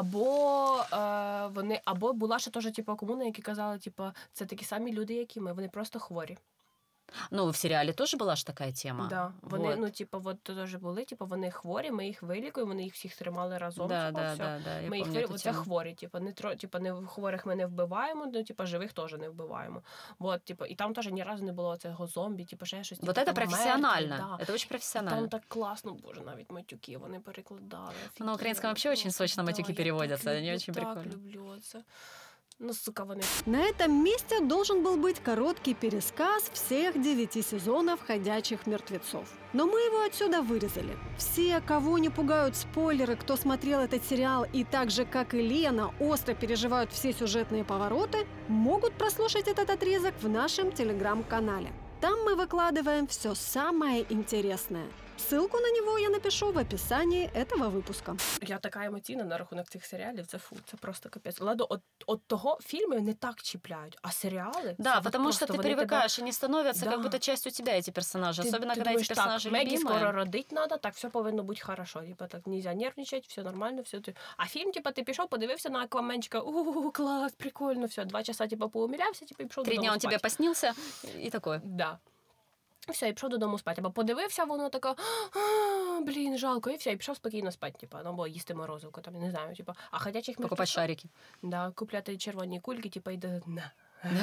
або була ще теж типу, комуна, які казали, типу, це такі самі люди, як і ми, вони просто хворі. Ну, в серіалі теж була ж така тема. Да. Вони, Вот. ну, типу, от теж були, типу, вони хворі, ми їх вилікуємо, вони їх всіх тримали разом. Да, типу, да, все. да, да, я Ми їх помню эту це тему. хворі, типу, хворих ми не вбиваємо, ну, типу, живих теж не вбиваємо. Вот, типу, і там теж ні разу не було цього зомбі, типу, ще щось. Вот типу, это там профессионально. мертві, Это очень да. профессионально. Там так класно, боже, навіть матюки вони перекладали. На украинском вообще очень сочно матюки переводятся, они очень Так прикольно. люблю це. Ну, сука, вони. На этом месте должен был быть короткий пересказ всех 9 сезонов «Ходячих мертвецов». Но мы его отсюда вырезали. Все, кого не пугают спойлеры, кто смотрел этот сериал и так же, как и Лена, остро переживают все сюжетные повороты, могут прослушать этот отрезок в нашем телеграм-канале. Там мы выкладываем все самое интересное. Ссылку на него я напишу в описании этого выпуска. Я така емоційна на рахунок цих серіалів, це просто капець. Ладно, от того фільми не так чіпляють, а серіали... Да, це потому что просто ты вони привыкаешь, они становятся Да. как будто частью тебя, эти персонажи. Ти Особенно, когда думаєш, эти персонажи так, Мегі любимые. скоро родить надо, так все повинно бути хорошо. Типа так нельзя нервничать, все нормально, все. А фільм, типа, ти пішов, подивився на Акваменчика, клас, прикольно, все, 2 часа, типа, поумілявся, типа, і пішов 3 додому дня он спати. тебе поснился и такой. Да. І все, і пішов додому спати. Або подивився, воно така, блін, жалко, і все, і пішов спокійно спати, типа, ну, або їсти морозивку, там, не знаю, типа, а ходячих Покупать мертвеців, шарики. да, купляти червоні кульки, типа, і на.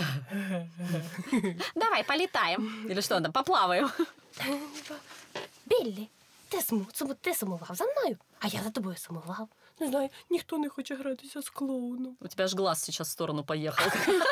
Давай, полетаем. Или что там, поплаваем. Біллі, ти сумував за мною, а я за тобою сумував. Не знаю, ніхто не хоче гратися з клоуном. У тебя аж глаз сейчас в сторону поехал.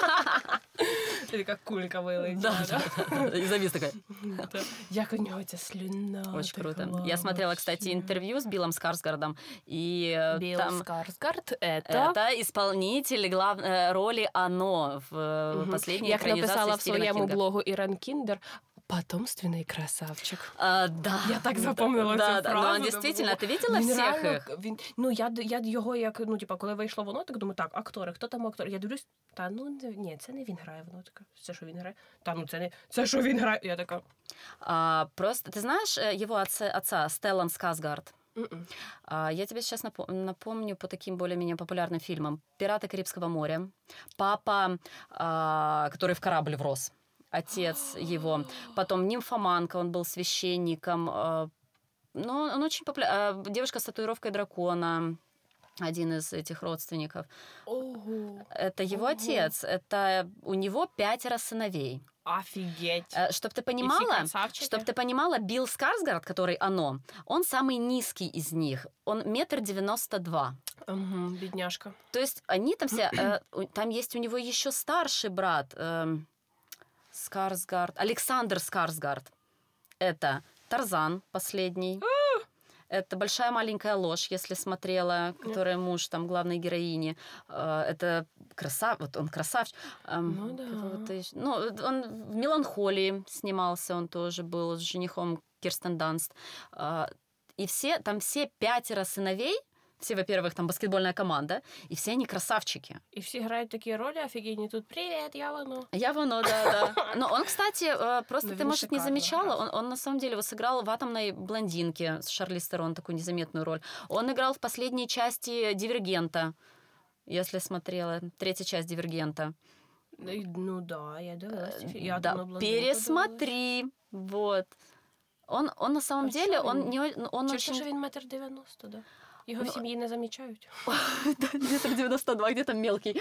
Ти така кулька вилетіла. Да, да, да. И завис такая. Як у нього ця слюна. Очень круто. текла Я смотрела, кстати, вообще. интервью с Биллом Скарсгардом. И Білл там Скарсгард, это исполнитель роли Оно в последней як экранизации написала в Стивена своєму Кинга. блогу Иран Киндер, потомственний красавчик. Да. Я так запомнила да, цю да, фразу. но он действительно, ты видела Він всех реально, их? Ну, я його як, ну, типа, коли вийшло воно, так думаю, так, актори, хто там актор? Я дивлюсь, та, ну, ні, це не він грає, воно така, це що він грає? Та, ну, це що він грає? Я така, Просто, ты знаешь его отца Стеллан Скарсгард? «М-м». Я тебе сейчас напомню по таким более-менее популярным фильмам. «Пираты Карибского моря», «Папа, который в корабль врос», отец его. Потом «Нимфоманка», он был священником. Ну, он очень популярный. «Девушка с татуировкой дракона», один из этих родственников. ого, Это его Ого. отец. Это у него 5 сыновей. офігеть. Чтоб ты понимала, красавчики? чтоб ты понимала, Билл Скарсгард, который Оно, он самый низкий из них. Он 1,92 м. Угу, бідняшка. То есть они там все... Там есть у него еще старший брат. Скарсгард. Александр Скарсгард. Это Тарзан последний. Это «Большая маленькая ложь», если смотрела, которая муж там главной героини. Это вот он красавчик. Ну да. Ну, он в «Меланхолии» снимался, он тоже был с женихом Кирстен Данст. И там все 5 сыновей, все, во-первых, там баскетбольная команда, и все они красавчики. І всі грають такі ролі офігенні. Тут «Привіт, я воно». Я воно, да. Но он, кстати, просто Ну, ты, он может, не шикарно замечала, играл. он на самом деле сыграл в «Атомной блондинке» с Шарлиз Терон такую незаметную роль. Он играл в последней части «Дивергента», если смотрела, 3-я часть «Дивергента». Ну да, я дивилась. Я Да, там на пересмотри. Вот. Он на самом деле, он Через очень... те, що він 1,90 м, да? Його в сім'ї не замічають. Где-то 92, где-то мелкий.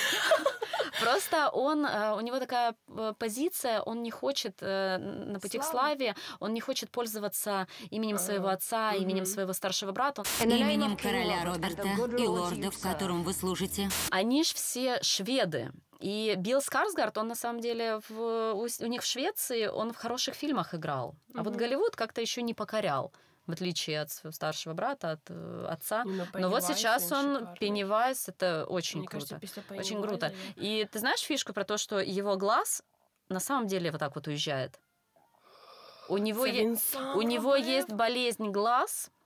Просто у него такая позиция, он не хочет на пути к славе, он не хочет пользоваться именем своего отца, именем своего старшего брата. Именем короля Роберта и лордов, которым вы служите. Они ж все шведы. И Билл Скарсгард, он на самом деле у них в Швеции, он в хороших фильмах играл. А вот Голливуд как-то еще не покорял, в отличие от своего старшего брата, от отца. Но вот сейчас он, Пеннивайз, это очень круто. Очень круто. И ты знаешь фишку про то, что его глаз на самом деле вот так вот уезжает? У него есть болезнь глаз,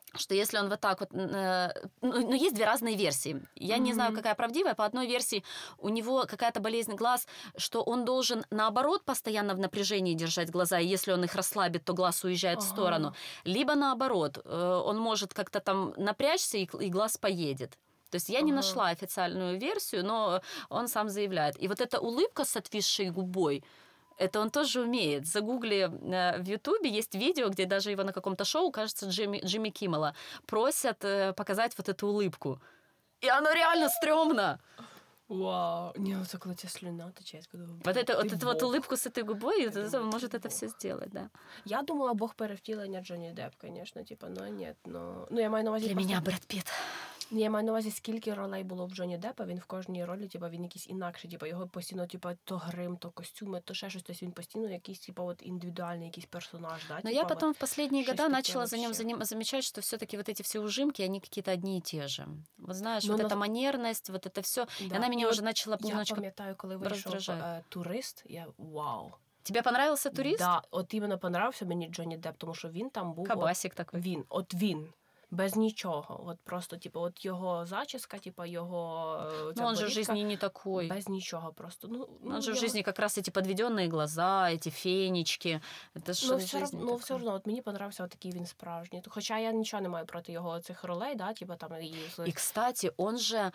что если он вот так вот... Ну, есть две разные версии. Я не знаю, какая правдивая. По одной версии у него какая-то болезнь глаз, что он должен, наоборот, постоянно в напряжении держать глаза, и если он их расслабит, то глаз уезжает в сторону. Либо, наоборот, он может как-то там напрячься, и глаз поедет. То есть я не нашла официальную версию, но он сам заявляет. И вот эта улыбка с отвисшей губой, это он тоже умеет. Загугли в Ютубе, есть видео, где даже его на каком-то шоу, кажется, Джимми Киммела, просят показать вот эту улыбку. И оно реально стрёмно. Вау. Не, это коли ця слюна тече. Вот эту вот улыбку с этой губой, это может это все сделать, да. Я думала, Бог перевтілення Джонні Депп, конечно, типа, ну нет, ну я маю на увазі... Для меня Брэд Питт. Я маю на увазі, скільки ролей було в Джонні Деппа, він в кожній ролі, типа, він якийсь інакший, типа, його постійно, типа, то грим, то костюми, то ще щось, тобто він постійно якийсь, типа, от індивідуальний якийсь персонаж, да? Но типа, я потом вот, в последние что-то года такое начала за ним вообще. замечать, что все-таки вот эти все ужимки, они какие-то одни и те же. Вот знаешь, Ну, вот но- эта манерность, вот это все, Да. она меня І уже от начала Я немножечко... пам'ятаю, коли вийшов роздражає. «Турист», я вау. Тебе понравился «Турист»? Да, от іменно понравився мені Джонні Депп, тому що він там був... Кабасик такой. Він. Без нічого. От просто, типу, от його зачіска, типу, його... ця Ну, он же в борідка, жизни не такой. Без нічого просто. Он же в я- жизни как раз эти подведенные глаза, эти фенечки. Это ж Ну, в жизни такое. все одно, от мені понравився от такий він справжній. Хоча я нічого не маю проти його цих ролей, да, типу, там, И, кстати, он же...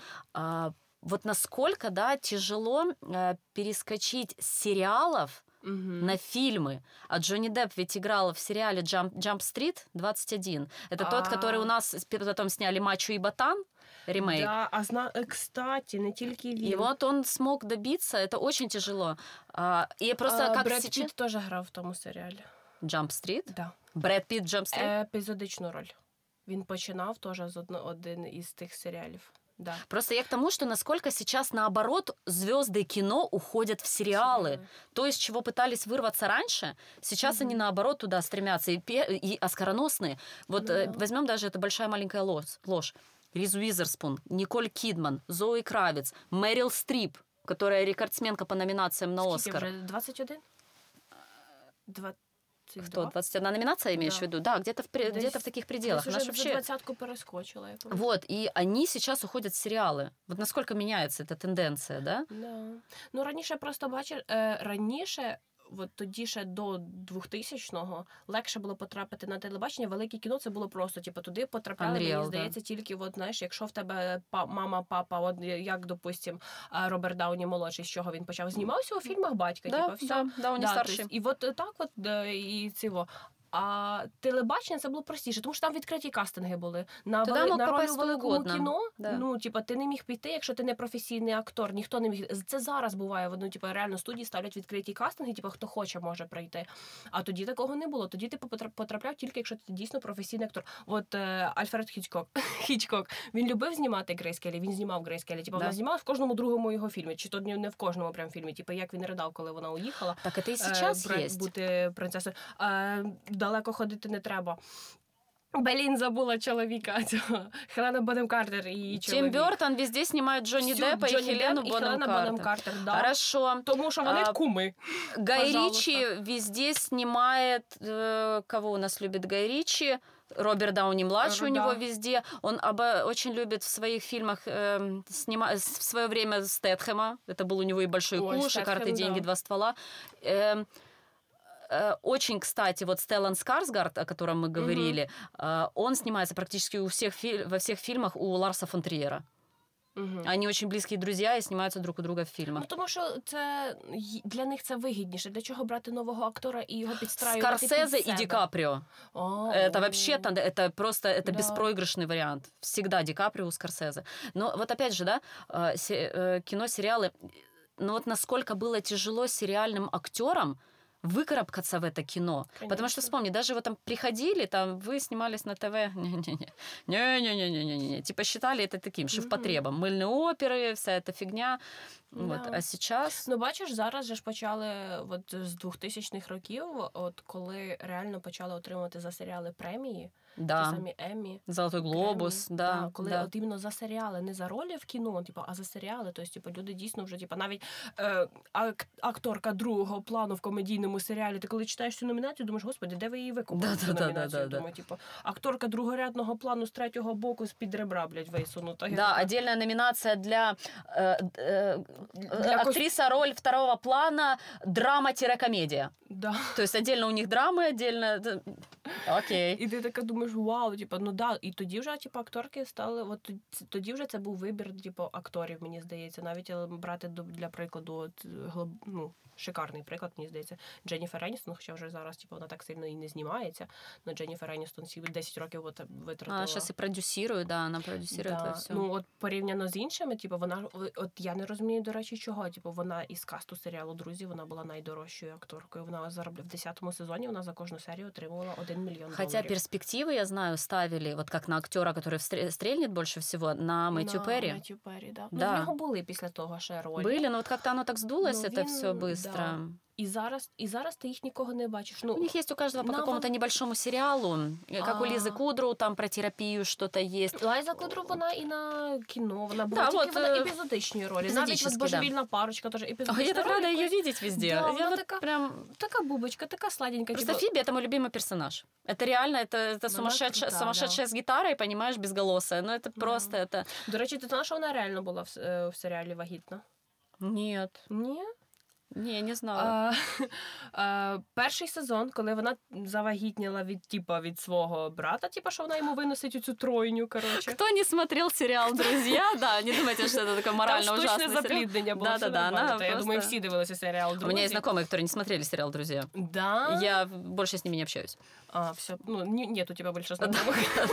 вот насколько, да, тяжело перескочить с сериалов на фильмы. А Джонни Депп ведь играл в сериале «Jump Street» 21. Это тот, который у нас потом сняли «Мачо и Ботан», ремейк. Да, кстати, не тільки він. И вот он смог добиться, это очень тяжело. И просто как Бред сейчас... Пітт теж грав в тому серіалі. «Jump Street»? Да. Брэд Питт «Jump Street»? Епізодичну роль. Він починав теж з один із тих серіалів. Да. Просто я к тому, что насколько сейчас, наоборот, звезды кино уходят в сериалы. То, из чего пытались вырваться раньше, сейчас они, наоборот, туда стремятся. И оскароносные. Вот возьмем даже «Это большая маленькая ложь». Риз Уизерспун, Николь Кидман, Зои Кравиц, Мэрил Стрип, которая рекордсменка по номинациям на Скільки «Оскар». вже? 21? 22? Кто? 21 номинация, имеешь Да. в виду? Да, где-то в таких пределах. Десь Она уже ж за вообще... 20-ку перескочила. Я пам'ятаю. Вот, и они сейчас уходят в сериалы. Вот насколько меняется эта тенденция, да? Да. Ну, раніше просто бачиш, раніше, от тоді ще до 2000-го, легше було потрапити на телебачення. Велике кіно це було просто, типу, туди потрапляли, Unreal, мені здається, тільки, от, знаєш, якщо в тебе мама, папа, от як, допустим, Роберт Дауні молодший, з чого він почав, знімався у фільмах батька, Да, типу, все. да, Дауні старший. Тобто, і от так от, і цього. А телебачення це було простіше, тому що там відкриті кастинги були. На Туди мог роль попасть у хто великому угодно. кіно, Да. ну, типа, ти не міг піти, якщо ти не професійний актор, ніхто не міг. Це зараз буває, ну, типа, реально студії ставлять відкриті кастинги, типа, хто хоче, може прийти. А тоді такого не було. Тоді ти потрапляв тільки, якщо ти дійсно професійний актор. От Альфред Хічкок, він любив знімати Грейс Келлі, він знімав Грейс Келлі. Типа, Да. вона знімала в кожному другому його фільмі, чи то не в кожному прям фільмі, типа, як він ридав, коли вона уїхала. Так это и сейчас есть. Бути принцесою. Далеко ходити не треба. Блін, забула чоловіка цього. Хелена Бонем Картер і її Тим чоловік. Бёртон везде снимает Джонни Всю Деппа Джонні и Хелену Депп і Бонем Хелена Бонем Картер. Картер, да. Хорошо. Тому що вони куми. Гай Пожалуйста. Ричи везде снимает... кого у нас любит Гай Ричи? Роберт Дауни-младший у Да. него везде. Он очень любит в своих фильмах в свое время Стэтхэма. Это был у него и «Большой Ой, куш», и Стэтхэм, «Карты, деньги, да. два ствола». Очень, кстати, вот Стеллан Скарсгард, о котором мы говорили, он снимается практически во всех фильмах у Ларса фон Триера. Они очень близкие друзья и снимаются друг у друга в фільмах. Ну, тому що це для них це вигідніше. Для чого брати нового актора і його підстраювати під Скорсезе себе? и Ди Каприо. Это вообще, это просто, это Да. беспроигрышный вариант. Всегда Ди Каприо, Скорсезе. Но вот опять же, да, кино, сериалы, ну вот насколько было тяжело сериальным актерам выкарабкаться в это кино. Конечно. Потому что, вспомни, даже вот там приходили, там вы снимались на ТВ, не-не-не, типа считали это таким шеф-потребом. Мыльные оперы, вся эта фигня. Вот. Да. А сейчас... Ну, бачиш, зараз же ж почали от з 2000-х років, от коли реально почали отримувати за серіали премії, ті Да, самі Еммі, Золотой глобус, Греммі, да. коли да. от іменно за серіали, не за ролі в кіно, типу, а за серіали. Тобто, типу, люди дійсно вже, типу, навіть акторка другого плану в комедійному наступному серіалі. Ти коли читаєш цю номінацію, думаєш, господи, де ви її викупили? Цю Да-да-да-да-да-да. номінацію? Думаю, типу, акторка другорядного плану з третього боку з-під ребра, блядь, висунута. Я Да, така, отдельная номинация для Для актриса роль второго плана, драма-комедия. да. То есть отдельно у них драмы, отдельно... Окей. І ти така думаєш, вау, типу, ну да, і тоді вже, типу, акторки стали, от тоді вже це був вибір, типу, акторів, мені здається, навіть брати для прикладу, от, ну, шикарний приклад, мені здається, Дженніфер Еністон, хоча вже зараз, типу, вона так сильно і не знімається, але Дженніфер Еністон 10 років от витратила. Она сейчас и продюсирует, да, она продюсирует Да. все. Ну, от порівняно з іншими, типу, вона, от я не розумію, до речі, чого, типу, вона із касту серіалу «Друзі», вона була найдорожчою акторкою, вона заробляла, в 10-му сезоні вона за кожну серію отримувала $1 мільйон. Хотя перспективы, я знаю, ставили, вот как на актера, который стрельнет больше всего, на Мэтью Перри. Меттью Перрі, да. Да. Ну, в нього були після того ще ролі. Были, но вот как-то оно так сдулось, Ну, это він, все быстро. да. І зараз ти їх нікого не бачиш. Ну, У них есть у каждого по на какому-то небольшому сериалу, как у Лизы Кудру, там про терапию что-то есть. Лайза Кудру, вона і на кіно, вона була Да, тільки вот, вона епізодичні ролі. Навіть епізодичні, от «Божевільна парочка» теж Ой, епізодична я так роль. рада ее видеть везде. Да, Я вона вот така, прям... така бубочка, така сладенька. Просто типу, Фиби — это мой любимый персонаж. Это реально, это сумасшедшая, крута, сумасшедшая с гитарой, понимаешь, безголосая. Ну, это просто, это... До речі, ти знала, що вона реально була в серіалі «Вагітна»? Нет. Ні? Не, не знала. Перший сезон, коли вона завагітніла від свого брата, що вона йому виносить цю тройню, коротше. Кто не смотрел сериал «Друзья», да, не думайте, что это такой морально Там ужасный штучне сериал. запліднення було. Да-да-да, она Я просто... думаю, всі дивилися серіал У «Друзі». меня есть знакомые, которые не смотрели сериал «Друзья». Да? Я больше с ними не общаюсь. Все. Ну, нет у тебя больше знакомых.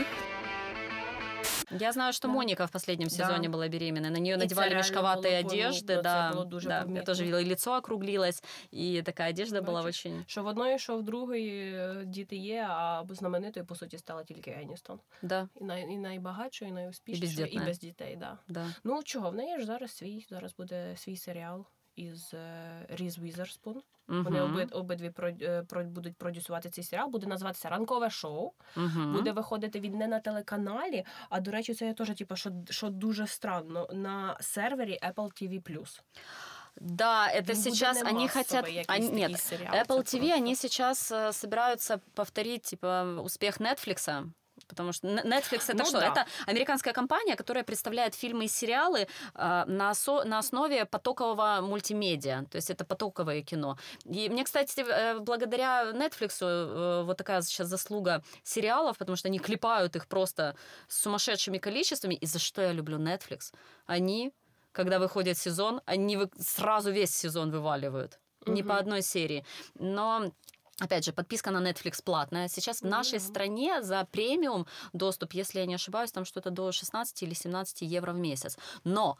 Я знаю, что Моника в последнем сезоне была беременна. На нее И надевали це мешковатые реально було одежды. помітно, Да, це було дуже да. Я помітно. тоже видела, и лицо округлилось, и такая одежда была Бачиш? очень... Що в одної, що в другої діти є, а знаменитою, по суті, стала тільки Еністон. Да, І найбагатшою, і найуспішнішою, і бездітна. без дітей, да. да. Ну, чого, в неї ж зараз буде свій серіал із Різ Візерспун. Вони обидві будуть продюсувати цей серіал. Буде називатися «Ранкове шоу». Буде виходити він не на телеканалі, а, до речі, це я теж, що дуже странно, на сервері Apple TV+. Да, это Він сейчас буде не они масовий хотят... якийсь Нет, такий серіал, Apple це TV, просто. они сейчас собираются повторить, типа, успех Netflix. Потому что Netflix — это Ну что? да. Это американская компания, которая представляет фильмы и сериалы на основе потокового мультимедиа. То есть это потоковое кино. И мне, кстати, благодаря Netflix вот такая сейчас заслуга сериалов, потому что они клепают их просто с сумасшедшими количествами. И за что я люблю Netflix? Они, когда выходит сезон, они сразу весь сезон вываливают. Не по одной серии. Но... Опять же, подписка на Netflix платная. Сейчас в нашей стране за премиум доступ, если я не ошибаюсь, там что-то до 16 или 17 евро в месяц. Но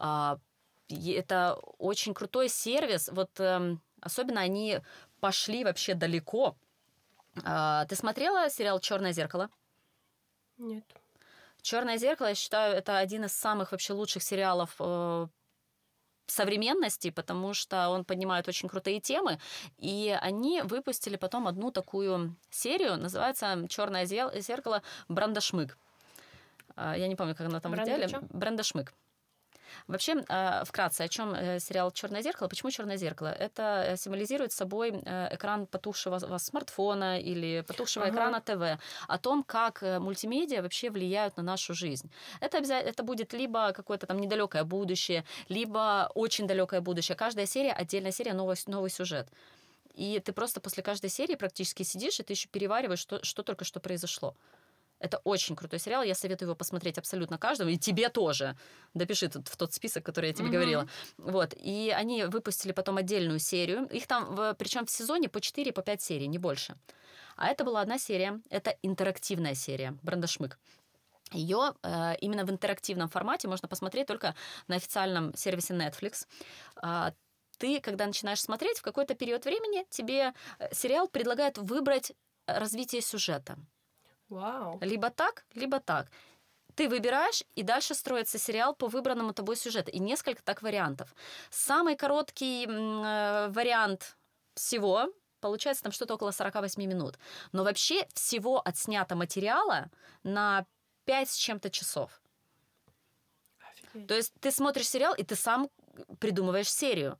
это очень крутой сервис. Вот особенно они пошли вообще далеко. Ты смотрела сериал «Черное зеркало»? Нет. «Черное зеркало», я считаю, это один из самых вообще лучших сериалов современности, потому что он поднимает очень крутые темы, и они выпустили потом одну такую серию, называется «Черное зеркало. Брандашмык». Я не помню, как она там в деле. Брандашмык. Вообще, вкратце, о чем сериал «Черное зеркало». Почему «Черное зеркало»? Это символизирует собой экран потухшего смартфона или потухшего экрана ТВ. О том, как мультимедиа вообще влияют на нашу жизнь. Это будет либо какое-то там недалекое будущее, либо очень далекое будущее. Каждая серия, отдельная серия, новый сюжет. И ты просто после каждой серии практически сидишь, и ты еще перевариваешь, что только что произошло. Это очень крутой сериал, я советую его посмотреть абсолютно каждому, и тебе тоже. Допиши в тот список, который я тебе говорила. Вот. И они выпустили потом отдельную серию. Их там, причем в сезоне по 4-5 серий, не больше. А это была одна серия, это интерактивная серия «Брандашмык». Ее именно в интерактивном формате можно посмотреть только на официальном сервисе Netflix. Ты, когда начинаешь смотреть, в какой-то период времени тебе сериал предлагает выбрать развитие сюжета. Вау. Либо так, либо так. Ты выбираешь, и дальше строится сериал по выбранному тобой сюжету. И несколько так вариантов. Самый короткий вариант всего получается там что-то около 48 минут. Но вообще всего отснято материала на 5 с чем-то часов. Офигеть. То есть ты смотришь сериал, и ты сам придумываешь серию.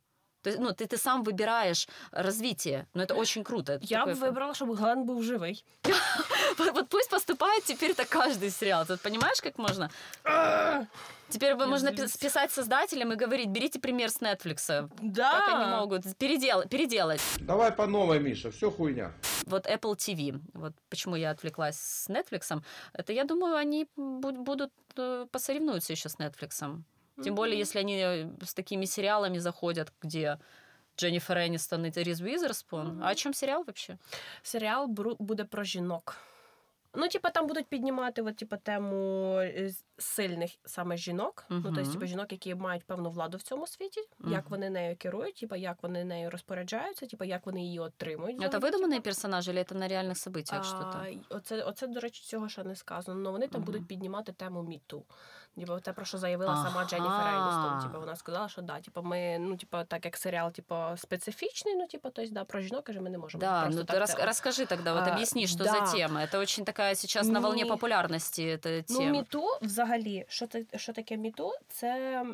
То есть, ну, ты сам выбираешь развитие. Но это очень круто. Это Я б такое- вибрала, щоб Глен був живий. Вот пусть поступает теперь так каждый сериал. Ты понимаешь, как можно? Теперь можно писать создателям и говорить, берите пример с Netflix. Да. Как они могут переделать. Давай по новой, Миша, все хуйня. Вот Apple TV, вот почему я отвлеклась с Netflix, это, я думаю, они будут посоревнуются еще с Netflix. Тем более, если они с такими сериалами заходят, где Дженнифер Энистон и Риз Уизерспун. А о чому серіал вообще? Серіал буде про жінок. Ну, типа, там будуть піднімати от, типа, тему сильних саме жінок. Ну, тобто, типа, жінок, які мають певну владу в цьому світі, як вони нею керують, типа, як вони нею розпоряджаються, типа, як вони її отримують. Це видумані персонажі, чи це на реальних событиях щось? Оце, до речі, цього ще не сказано. Але вони там будуть піднімати тему міту. Типа, те, про що заявила сама Дженніфер Еністон. Типа, вона сказала, що да, типа, ми, ну, типа, так як серіал, типа, специфічний, ну, типа, тобто, да, про жінок, каже, ми не можемо. Да, просто ну так ты расскажи тогда, вот объясни, что за тема. Это очень такая сейчас на волне популярности эта тема. Ну, міту, взагалі, що таке міту? Це...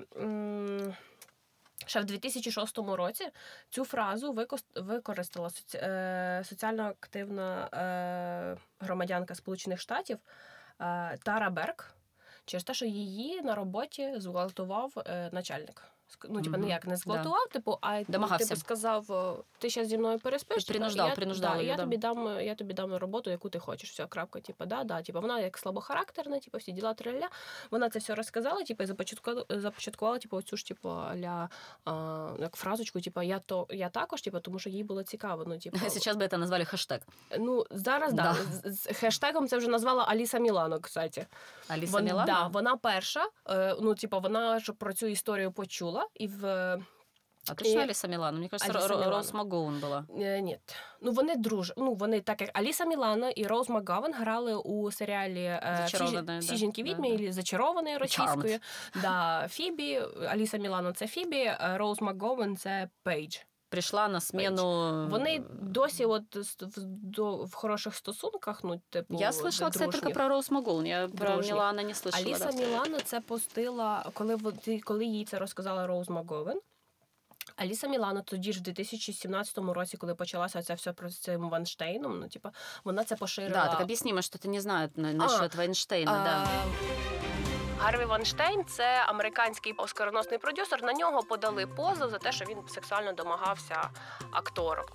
Ще в 2006 році цю фразу використала соціально активна громадянка Сполучених Штатів Тара Берг через те, що її на роботі зґвалтував начальник. Ну, типу, ніяк не зґвалтував, типу, а типу, сказав, ти зараз зі мною переспиш, принуждав її, я тобі дам роботу, яку ти хочеш. Все, крапка, типу, да. Типу, вона як слабохарактерна, типу, всі діла траля. Вона це все розказала, типу, і започаткувала, типу, оцю ж, типу, як фразочку, типу, я також, типу, тому що їй було цікаво. Ну, типу, зараз би це назвали хештег. Ну, зараз, да. З хештегом це вже назвала Аліса Мілано, кстати. Аліса Мілано? Да, вона перша, ну, типу, вона ж про цю історію почула. А точно Аліса Мілано? Мені кажется, Роуз МакГоуан була. Ні. Ну, вони Ну, вони, так як Аліса Мілано і Роуз МакГоуан грали у серіалі «Всі жінки-відьми» або «Зачарований» російською. Да, Фібі, Аліса Мілано – це Фібі, Роуз МакГоуан – це Пейдж. Прийшла на смену... Вони досі от в хороших стосунках, ну, типу, я слышала, кстати, тільки про Роуз МакГоуан. Я про Мілано не слышала. Аліса Мілано це постила, коли їй це розказала Роуз МакГоуан. Аліса Мілано тоді ж в 2017 році, коли почалася це все про цим Вайнштейном, ну, типу, вона це поширила. Да, так об'яснімо, що ти не знаєш насчет Вайнштейна, да. Гарві Вайнштейн – це американський оскароносний продюсер. На нього подали позов за те, що він сексуально домагався акторок.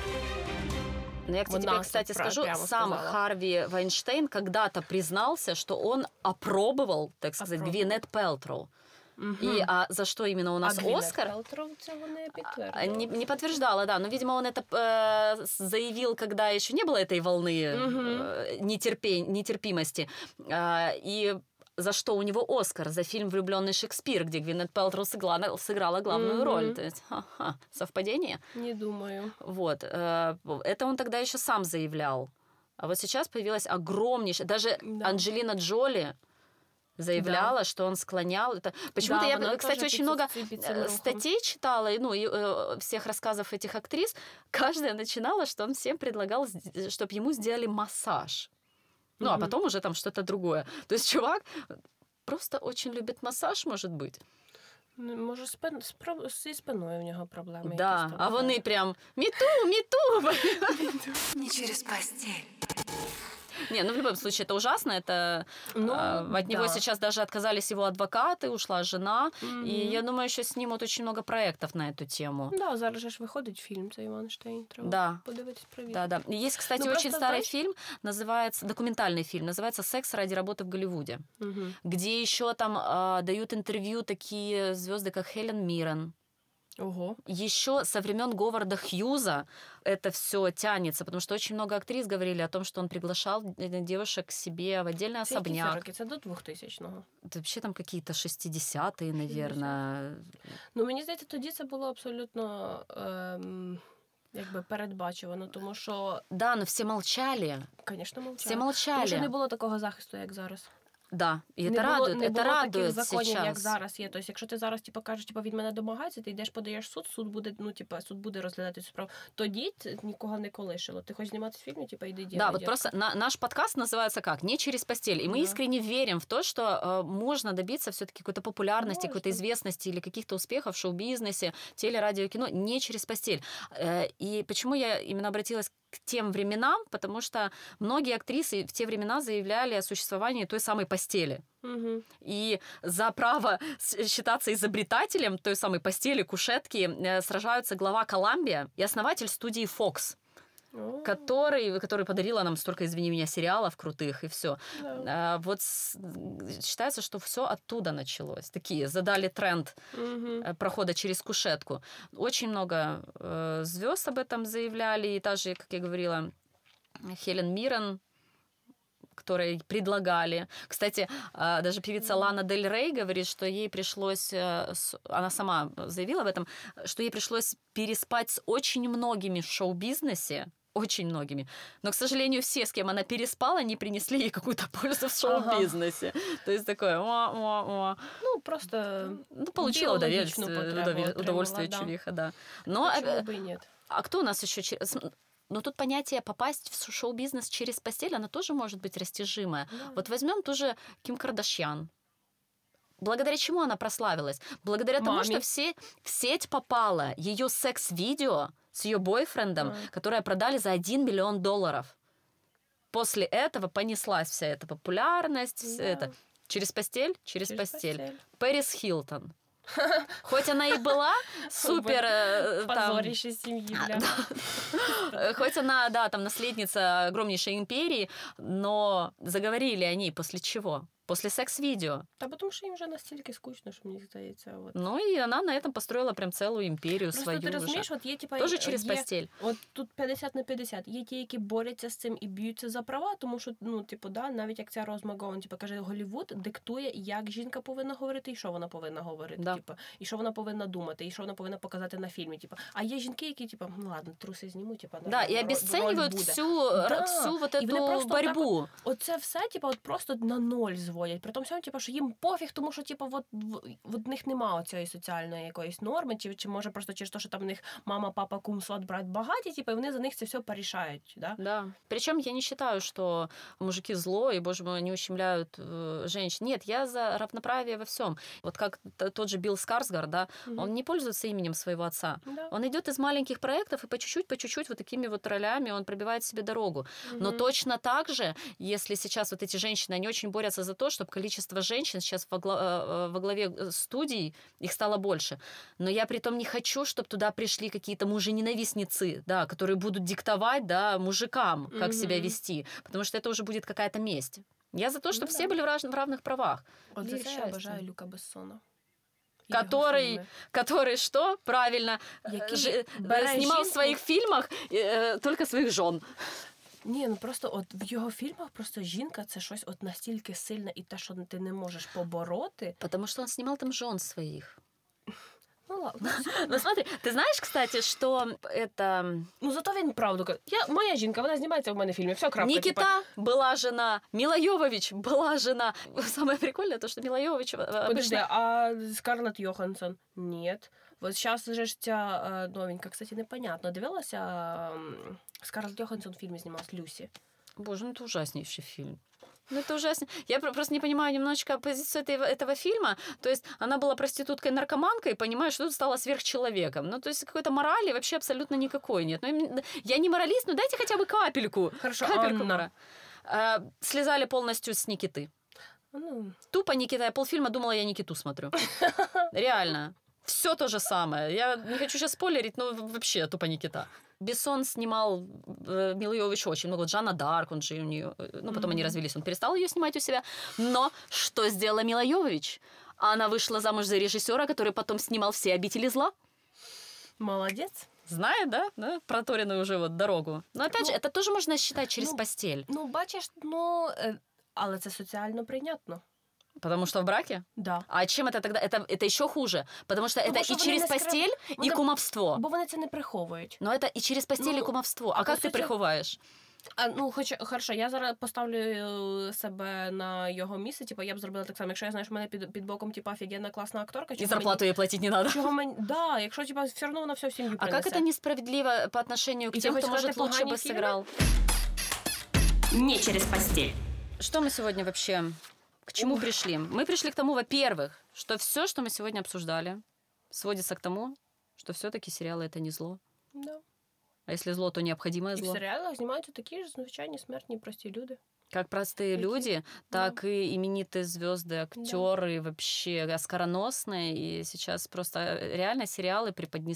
Но я тебе, кстати, скажу, сам Харви Вайнштейн когда-то признался, что он опробовал, так сказать, Гвинет Пелтроу. И за что именно у нас Оскар? Пелтроу цього не підтвердила. Не подтверждала, да. Но, видимо, он это заявил, когда еще не было этой волны нетерпимости. И за что у него Оскар? За фильм «Влюбленный Шекспир», где Гвинет Пелтроу сыграла главную роль. То есть, совпадение? Не думаю. Вот. Это он тогда еще сам заявлял. А вот сейчас появилась огромнейшая... Даже Анджелина Джоли заявляла, что он склонял. Это... Почему-то я, кстати, очень много статей читала, ну, и всех рассказов этих актрис. Каждая начинала, что он всем предлагал, чтобы ему сделали массаж. Ну, а потом уже там что-то другое. То есть чувак просто очень любит массаж, может быть. Може, зі спиною в нього проблеми. Да, а вони прям «Міту!» Не через постель. Не, ну в любом случае это ужасно, это от него сейчас даже отказались его адвокаты, ушла жена, и я думаю, еще снимут очень много проектов на эту тему. Да, зараз же виходить фільм цей Вайнштейн, треба подивитись, провірити. Да. Есть, кстати, очень старый фильм, называется, документальный фильм, называется «Секс ради работы в Голливуде», где еще там дают интервью такие звезды, как Хелен Миррен. Ого. Еще со времен Говарда Хьюза это все тянется, потому что очень много актрис говорили о том, что он приглашал девушек к себе в отдельный особняк. Це до 2000-го. Это вообще там какие-то 60-е, наверное. Ну, мені здається, тоді це було абсолютно якби передбачувано, тому що... Да, но все молчали. Звісно, мовчали. Все молчали. Тому що не було такого захисту, як зараз. Да, і не це було, радує, не це було радує таких законів, як зараз. зараз є. Тобто, якщо ти зараз кажеш, він мене домагається, ти йдеш, подаєш суд буде, суд буде розглядати цю справу. Тоді нікого не колишило. Ти хочеш зніматися в фільмі, іди делай. Да, вот просто наш подкаст называется как? «Не через постель». И мы искренне верим в то, что можно добиться все-таки какой-то популярности, какой-то известности или каких-то успехов в шоу-бизнесе, теле, радио, кино не через постель. И почему я именно обратилась к тем временам? Потому что многие актрисы в те времена заявляли о существовании той самой постели. Угу. И за право считаться изобретателем той самой постели, кушетки сражаются глава Коламбия и основатель студии Fox, который подарила нам столько, извини меня, сериалов крутых и все. Да. Вот считается, что все оттуда началось. Такие задали тренд прохода через кушетку. Очень много звезд об этом заявляли, и та же, как я говорила, Хелен Миррен, которые предлагали. Кстати, даже певица Лана Дель Рей говорит, что ей пришлось, она сама заявила об этом, что ей пришлось переспать с очень многими в шоу-бизнесе, очень многими. Но, к сожалению, все, с кем она переспала, не принесли ей какую-то пользу в шоу-бизнесе. То есть такое, Ну, просто... Ну, получила удовольствие чувиха, да. Но... А кто у нас еще... Но тут понятие попасть в шоу-бизнес через постель, оно тоже может быть растяжимое. Да. Вот возьмем ту же Ким Кардашьян. Благодаря чему она прославилась? Благодаря тому, что в сеть попало ее секс-видео с ее бойфрендом, которое продали за $1 миллион. После этого понеслась вся эта популярность. Да. Это. Через постель? Через постель. Пэрис Хилтон. Хоть она и была супер... Позорище семьи, бля. Хоть она, да, там наследница огромнейшей империи, но заговорили они после чего? После секс-видео. Та потому що їм вже настільки скучно, що мені здається. От. Ну, і вона на этом построила прям целую імперію свою. Просто ти розумієш, от є, типа, тоже через постель. От тут 50/50. Є ті, які борються з цим і б'ються за права, тому що, навіть як ця Роз МакГоwan, каже, Голлівуд диктує, як жінка повинна говорити і що вона повинна говорити. Да. І що вона повинна думати, і що вона повинна показати на фільмі. А є жінки, які, ладно, труси зніму, да, і обесцінюють всю вот эту борьбу. Оце все, от просто на ноль зводять. При тому, що їм пофіг, тому що в них немає цієї соціальної якоїсь норми, чи може просто через те, що там в них мама, папа, кум, сват, брат багаті, і вони за них це все порішають. Да? Да. Причем я не считаю, что мужики зло, и, боже мой, они ущемляют женщин. Нет, я за равноправие во всем. Вот как тот же Билл Скарсгард, да, он не пользуется именем своего отца. Да. Он идет из маленьких проектов, и по чуть-чуть вот такими вот ролями он пробивает себе дорогу. Но точно так же, если сейчас вот эти женщины, они очень борются за то, чтобы количество женщин сейчас во главе студий, их стало больше. Но я притом не хочу, чтобы туда пришли какие-то мужененавистницы, да, которые будут диктовать, да, мужикам, как себя вести. Потому что это уже будет какая-то месть. Я за то, чтобы все были в равных правах. Вот за це я обожаю Люка Бессона. Который что? Правильно. Снимал в своих фильмах только своих жен. Ні, просто от в його фільмах просто жінка це щось от настільки сильне і те, що ти не можеш побороти. Потому что он снимал там жен своих. Ну ладно. Ну смотри, ты знаешь, кстати, что это... Ну зато він правду каже. Моя жінка, вона знімається в мене в фільмі, все, крапка. Никита была жена, Мила Йовович была жена. Самое прикольное то, что Мила Йовович... Подожди, а Скарлетт Йоханссон? Нет. Вот сейчас же ж ця новенька, кстати, непонятно. Дивилася... Скарлетт Йоханссон в фильме снималась «Люси». Боже, это ужаснейший фильм. Это ужасно. Я просто не понимаю немножечко позицию этого фильма. То есть она была проституткой-наркоманкой, и понимаешь, что тут стала сверхчеловеком. Ну, то есть какой-то морали вообще абсолютно никакой нет. Ну, я не моралист, но дайте хотя бы капельку. Хорошо, капельку морали. Слезали полностью с Никиты. Тупо Никита. Я полфильма думала, я Никиту смотрю. Реально. Все то же самое. Я не хочу сейчас спойлерить, но вообще тупо Никита. Бессон снимал Милу Йовович очень много. Жанна Дарк, он же у нее... Ну, потом они развелись, он перестал ее снимать у себя. Но что сделала Мила Йовович? Она вышла замуж за режиссера, который потом снимал все «Обители зла». Молодец. Знает, да? Проторенную уже вот дорогу. Но опять же, это тоже можно считать через постель. Ну, бачиш, але це соціально прийнятно. Потому что в браке? Да. А чем это тогда? Это еще хуже. Потому что это и через постель, и кумовство. Бо вони це не приховують. Но это и через постель, и кумовство. А как ты приховаешь? Хорошо, я зараз поставлю себе на його місце, типу, я б зробила так само, якщо я знаю, що в мене під боком, типу, офігенна класна акторка. И зарплату ей платить не надо. Да, якщо, типу, все одно вона все в сім'ю А принесе. как это несправедливо по отношению к тем, кто, может, лучше бы сыграл? Не через постель. Что мы сегодня вообще, к чему пришли? Мы пришли к тому, во-первых, что все, что мы сегодня обсуждали, сводится к тому, что все-таки сериалы — это не зло. Да. А если зло, то необходимое І в зло. серіалах знімаються такі ж звичайні смертні прості люди. Как простые люди, так и именитые звезды, актеры, вообще оскароносные. И сейчас просто реально сериалы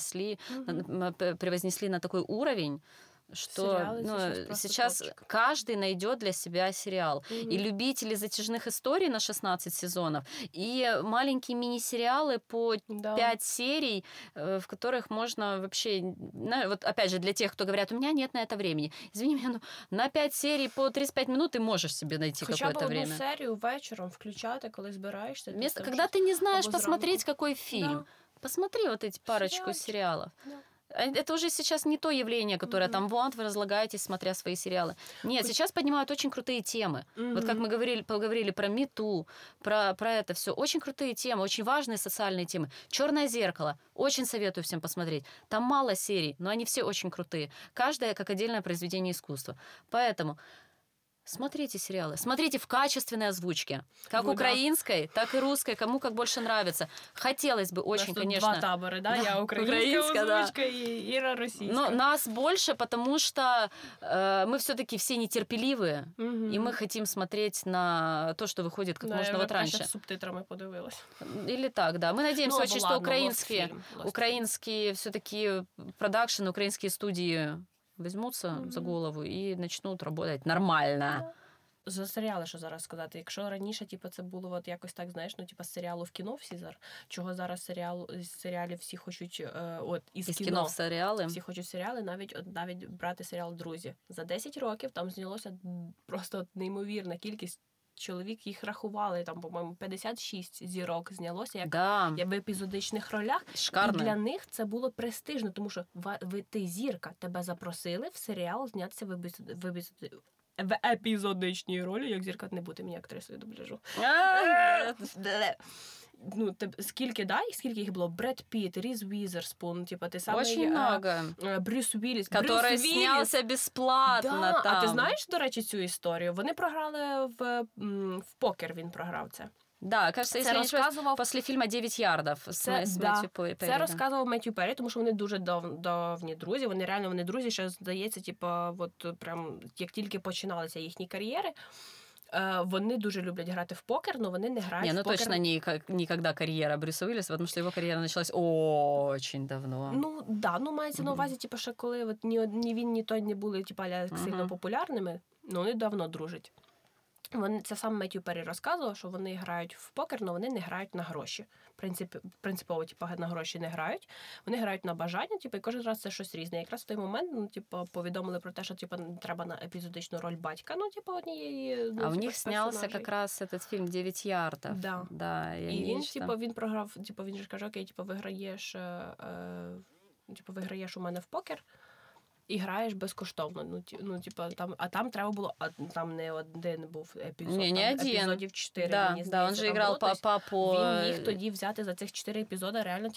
превознесли на такой уровень, что сейчас каждый найдет для себя сериал. И любители затяжных историй на 16 сезонов, и маленькие мини-сериалы по 5 серий, в которых можно вообще... Вот опять же, для тех, кто говорят, у меня нет на это времени. Извини меня, на 5 серий по 35 минут ты можешь себе найти какое-то время. Хоча б одну серію вечором включати, коли збираєшся. Вместо, когда ты не знаешь посмотреть, какой фильм. Посмотри вот эти парочку сериалов. Это уже сейчас не то явление, которое там вот вы разлагаетесь, смотря свои сериалы. Нет, сейчас поднимают очень крутые темы. Вот как мы поговорили про MeToo, про это все. Очень крутые темы, очень важные социальные темы. «Черное зеркало». Очень советую всем посмотреть. Там мало серий, но они все очень крутые. Каждая как отдельное произведение искусства. Поэтому... Смотрите сериалы. Смотрите в качественной озвучке. Как украинской, так и русской. Кому как больше нравится. Хотелось бы очень, конечно... Два табора, да? Я украинская озвучка и Ира российская. Но нас больше, потому что мы все-таки все нетерпеливые. И мы хотим смотреть на то, что выходит как можно вот раньше. Я с субтитрами подивилась. Или так, да. Мы надеемся очень, что украинские все-таки продакшены, украинские студии візьмуться за голову і почнуть працювати нормально. За серіали, що зараз сказати. Якщо раніше, типу, це було от якось так, знаєш, ну, типу, з серіалу в кіно всі зараз, чого зараз з серіалів всі хочуть, із кіно в серіали. Всі хочуть серіали, навіть брати серіал «Друзі». За 10 років там знялося просто неймовірна кількість чоловік, їх рахували, там, по-моєму, 56 зірок знялося, як в епізодичних ролях. Шикарно. І для них це було престижно, тому що ти зірка, тебе запросили в серіал знятися в епізодичній ролі, як зірка не бути мені актрисою дубляжу. Ну, скільки їх було? Бред Пітт, Різ Уізерспун, типа, ти самий... Очень много. Брюс Уілліс. Который снялся бесплатно да. там. А ти знаєш, до речі, цю історію? Вони програли в покер, він програв це. Да, кажется, це розказував після фільму «9 ярдів» з Меттью Перрі. Це розказував Меттью Перрі, тому що вони дуже давні друзі. Вони друзі, ще, здається, типа, от прям як тільки починалися їхні кар'єри. Вони дуже люблять грати в покер, але вони не грають в покер. Точно ніколи кар'єра Брюса Уілліса, тому що його кар'єра почалась дуже давно. Ну, да, мається на увазі, типу, що коли от ні він, ні той не були сильно популярними, вони давно дружать. Це сам Меттью Перрі розказував, що вони грають в покер, але вони не грають на гроші. Принципово, на гроші не грають. Вони грають на бажання, і кожен раз це щось різне. Якраз в той момент, повідомили про те, що треба на епізодичну роль батька, однієї. А у них знявся якраз цей фільм «9 ярдів». Да. І він програв, він ж каже, окей, виграєш у мене в покер, і граєш безкоштовно. Там треба було, там не один був епізод, епізодів 4. Да, мені здається, він же грав папу. Він міг тоді взяти за цих 4 епізоди реально,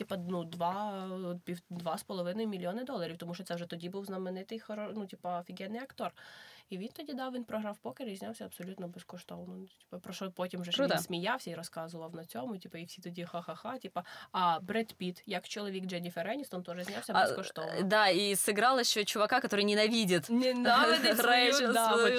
$2,5 мільйони, тому що це вже тоді був знаменитий, офігенний актор. І він тоді він програв покер і знявся абсолютно безкоштовно. Про що потім вже він сміявся і розказував на цьому, і всі тоді ха-ха-ха. А Бред Пітт, як чоловік Дженніфер Еністон, теж знявся безкоштовно. Да, і зіграв ще чувака, який ненавидить свою жену.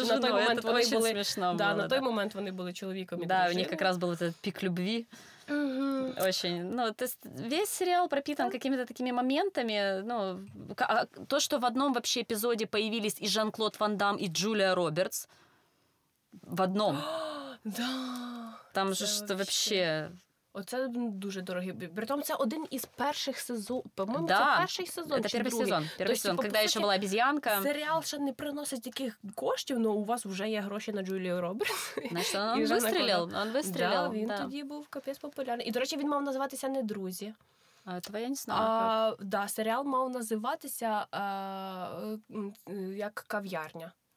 На той момент вони були чоловіком і дружиною. Да, у них якраз був цей пік любві. Очень. То есть весь сериал пропитан какими-то такими моментами. То, что в одном вообще эпизоде появились и Жан-Клод Ван Дам, и Джулия Робертс. В одном. Да. Там же что вообще... Оце дуже дорогий. Притом це один із перших сезонів. По-моєму, да. це перший сезон. Це перший сезон. Перший сезон, коли ще була обезьянка. Серіал ще не приносить таких коштів, але у вас вже є гроші на Джулію Робертс. Значить, він вистрілив. Да, він тоді був капець популярний. І, до речі, він мав називатися не «Друзі». А этого я не знаю. Да, серіал мав називатися як «Кав'ярня».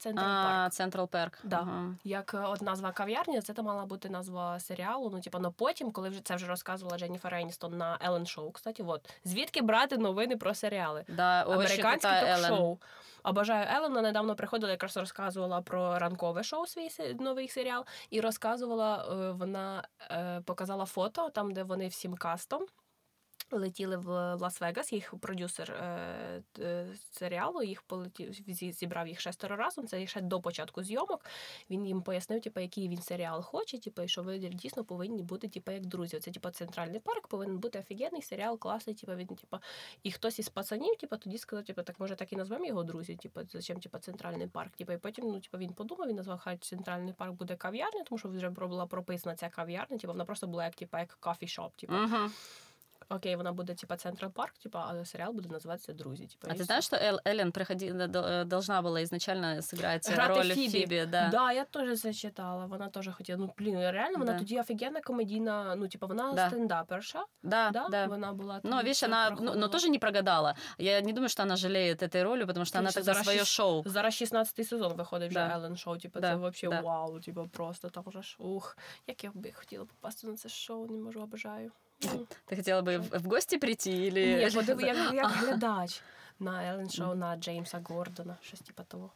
Централ Парк. Централ Парк. Да. Ага. Як от назва кав'ярні, це мала бути назва серіалу. Ну, типу, но потім, коли це вже розказувала Дженніфер Еністон на Еллен Шоу, кстати, от. Звідки брати новини про серіали? Да, американське ток-шоу. Обожаю Еллен, вона недавно приходила, якраз розказувала про ранкове шоу, свій новий серіал, і розказувала, вона показала фото, там, де вони всім кастом летіли в Лас-Вегас, їх продюсер серіалу, зібрав їх 6 разом, це ще до початку зйомок. Він їм пояснив, типу, який він серіал хоче, типу, і що ви дійсно повинні бути типу, як друзі. Це типу, Центральний парк повинен бути офігенний серіал, класний, типу, він, типу, і хтось із пацанів, типу, тоді сказав, типу, так може так і назвемо його друзі, типу, зачем типу, Центральний парк, типу, і потім, ну, типу, він подумав, він назвав, хай Центральний парк буде кав'ярня, тому що вже була прописана ця кав'ярня, типу, вона просто була як, типу, як кофі-шоп, типу. Окей, вона буде, типа, Централ Парк, типа, а сериал буде називатися «Друзі». Типа, а ти знаєш, що Еллен должна була ізначально зіграти роль в Фібі? Да. Да, я теж це читала. Вона теж хотіла. Ну, блін, реально, вона тоді офігенна комедійна, ну, типа, вона стендаперша. Да. Вона була... Ну, видишь, она тоже не прогадала. Я не думаю, что она жалеет этой роли, потому что она тогда свое шоу. Зараз 16-й сезон виходить вже Еллен Шоу. Типа, це взагалі вау, типа, просто там вже ж, як я б хотіла попасти на це шоу, не можу, обожаю. Ти хотіла би в гості прийти? Или... Ні, як глядач на Еллен Шоу, на Джеймса Гордона, щось типа того.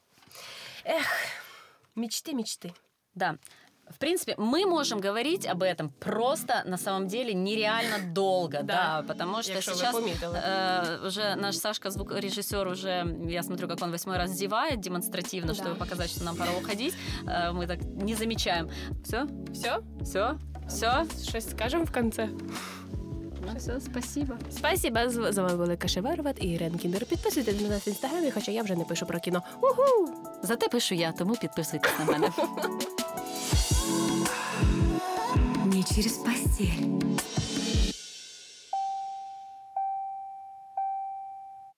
Мечты. Да. В принципе, мы можем говорить об этом просто, на самом деле, нереально долго, да, потому что сейчас уже наш Сашка, звукорежиссер, уже, я смотрю, как он 8-й раз зевает демонстративно, чтобы показать, что нам пора уходить. Мы так не замечаем. Все? Щось скажемо в кінці? Все, спасибо. Спасибо. З вами були Каша Варват і Ірен Кіндер. Підписуйтесь на нас в Інстаграмі, хоча я вже не пишу про кіно. Уху! Зате пишу я, тому підписуйтесь на мене. Не через постель.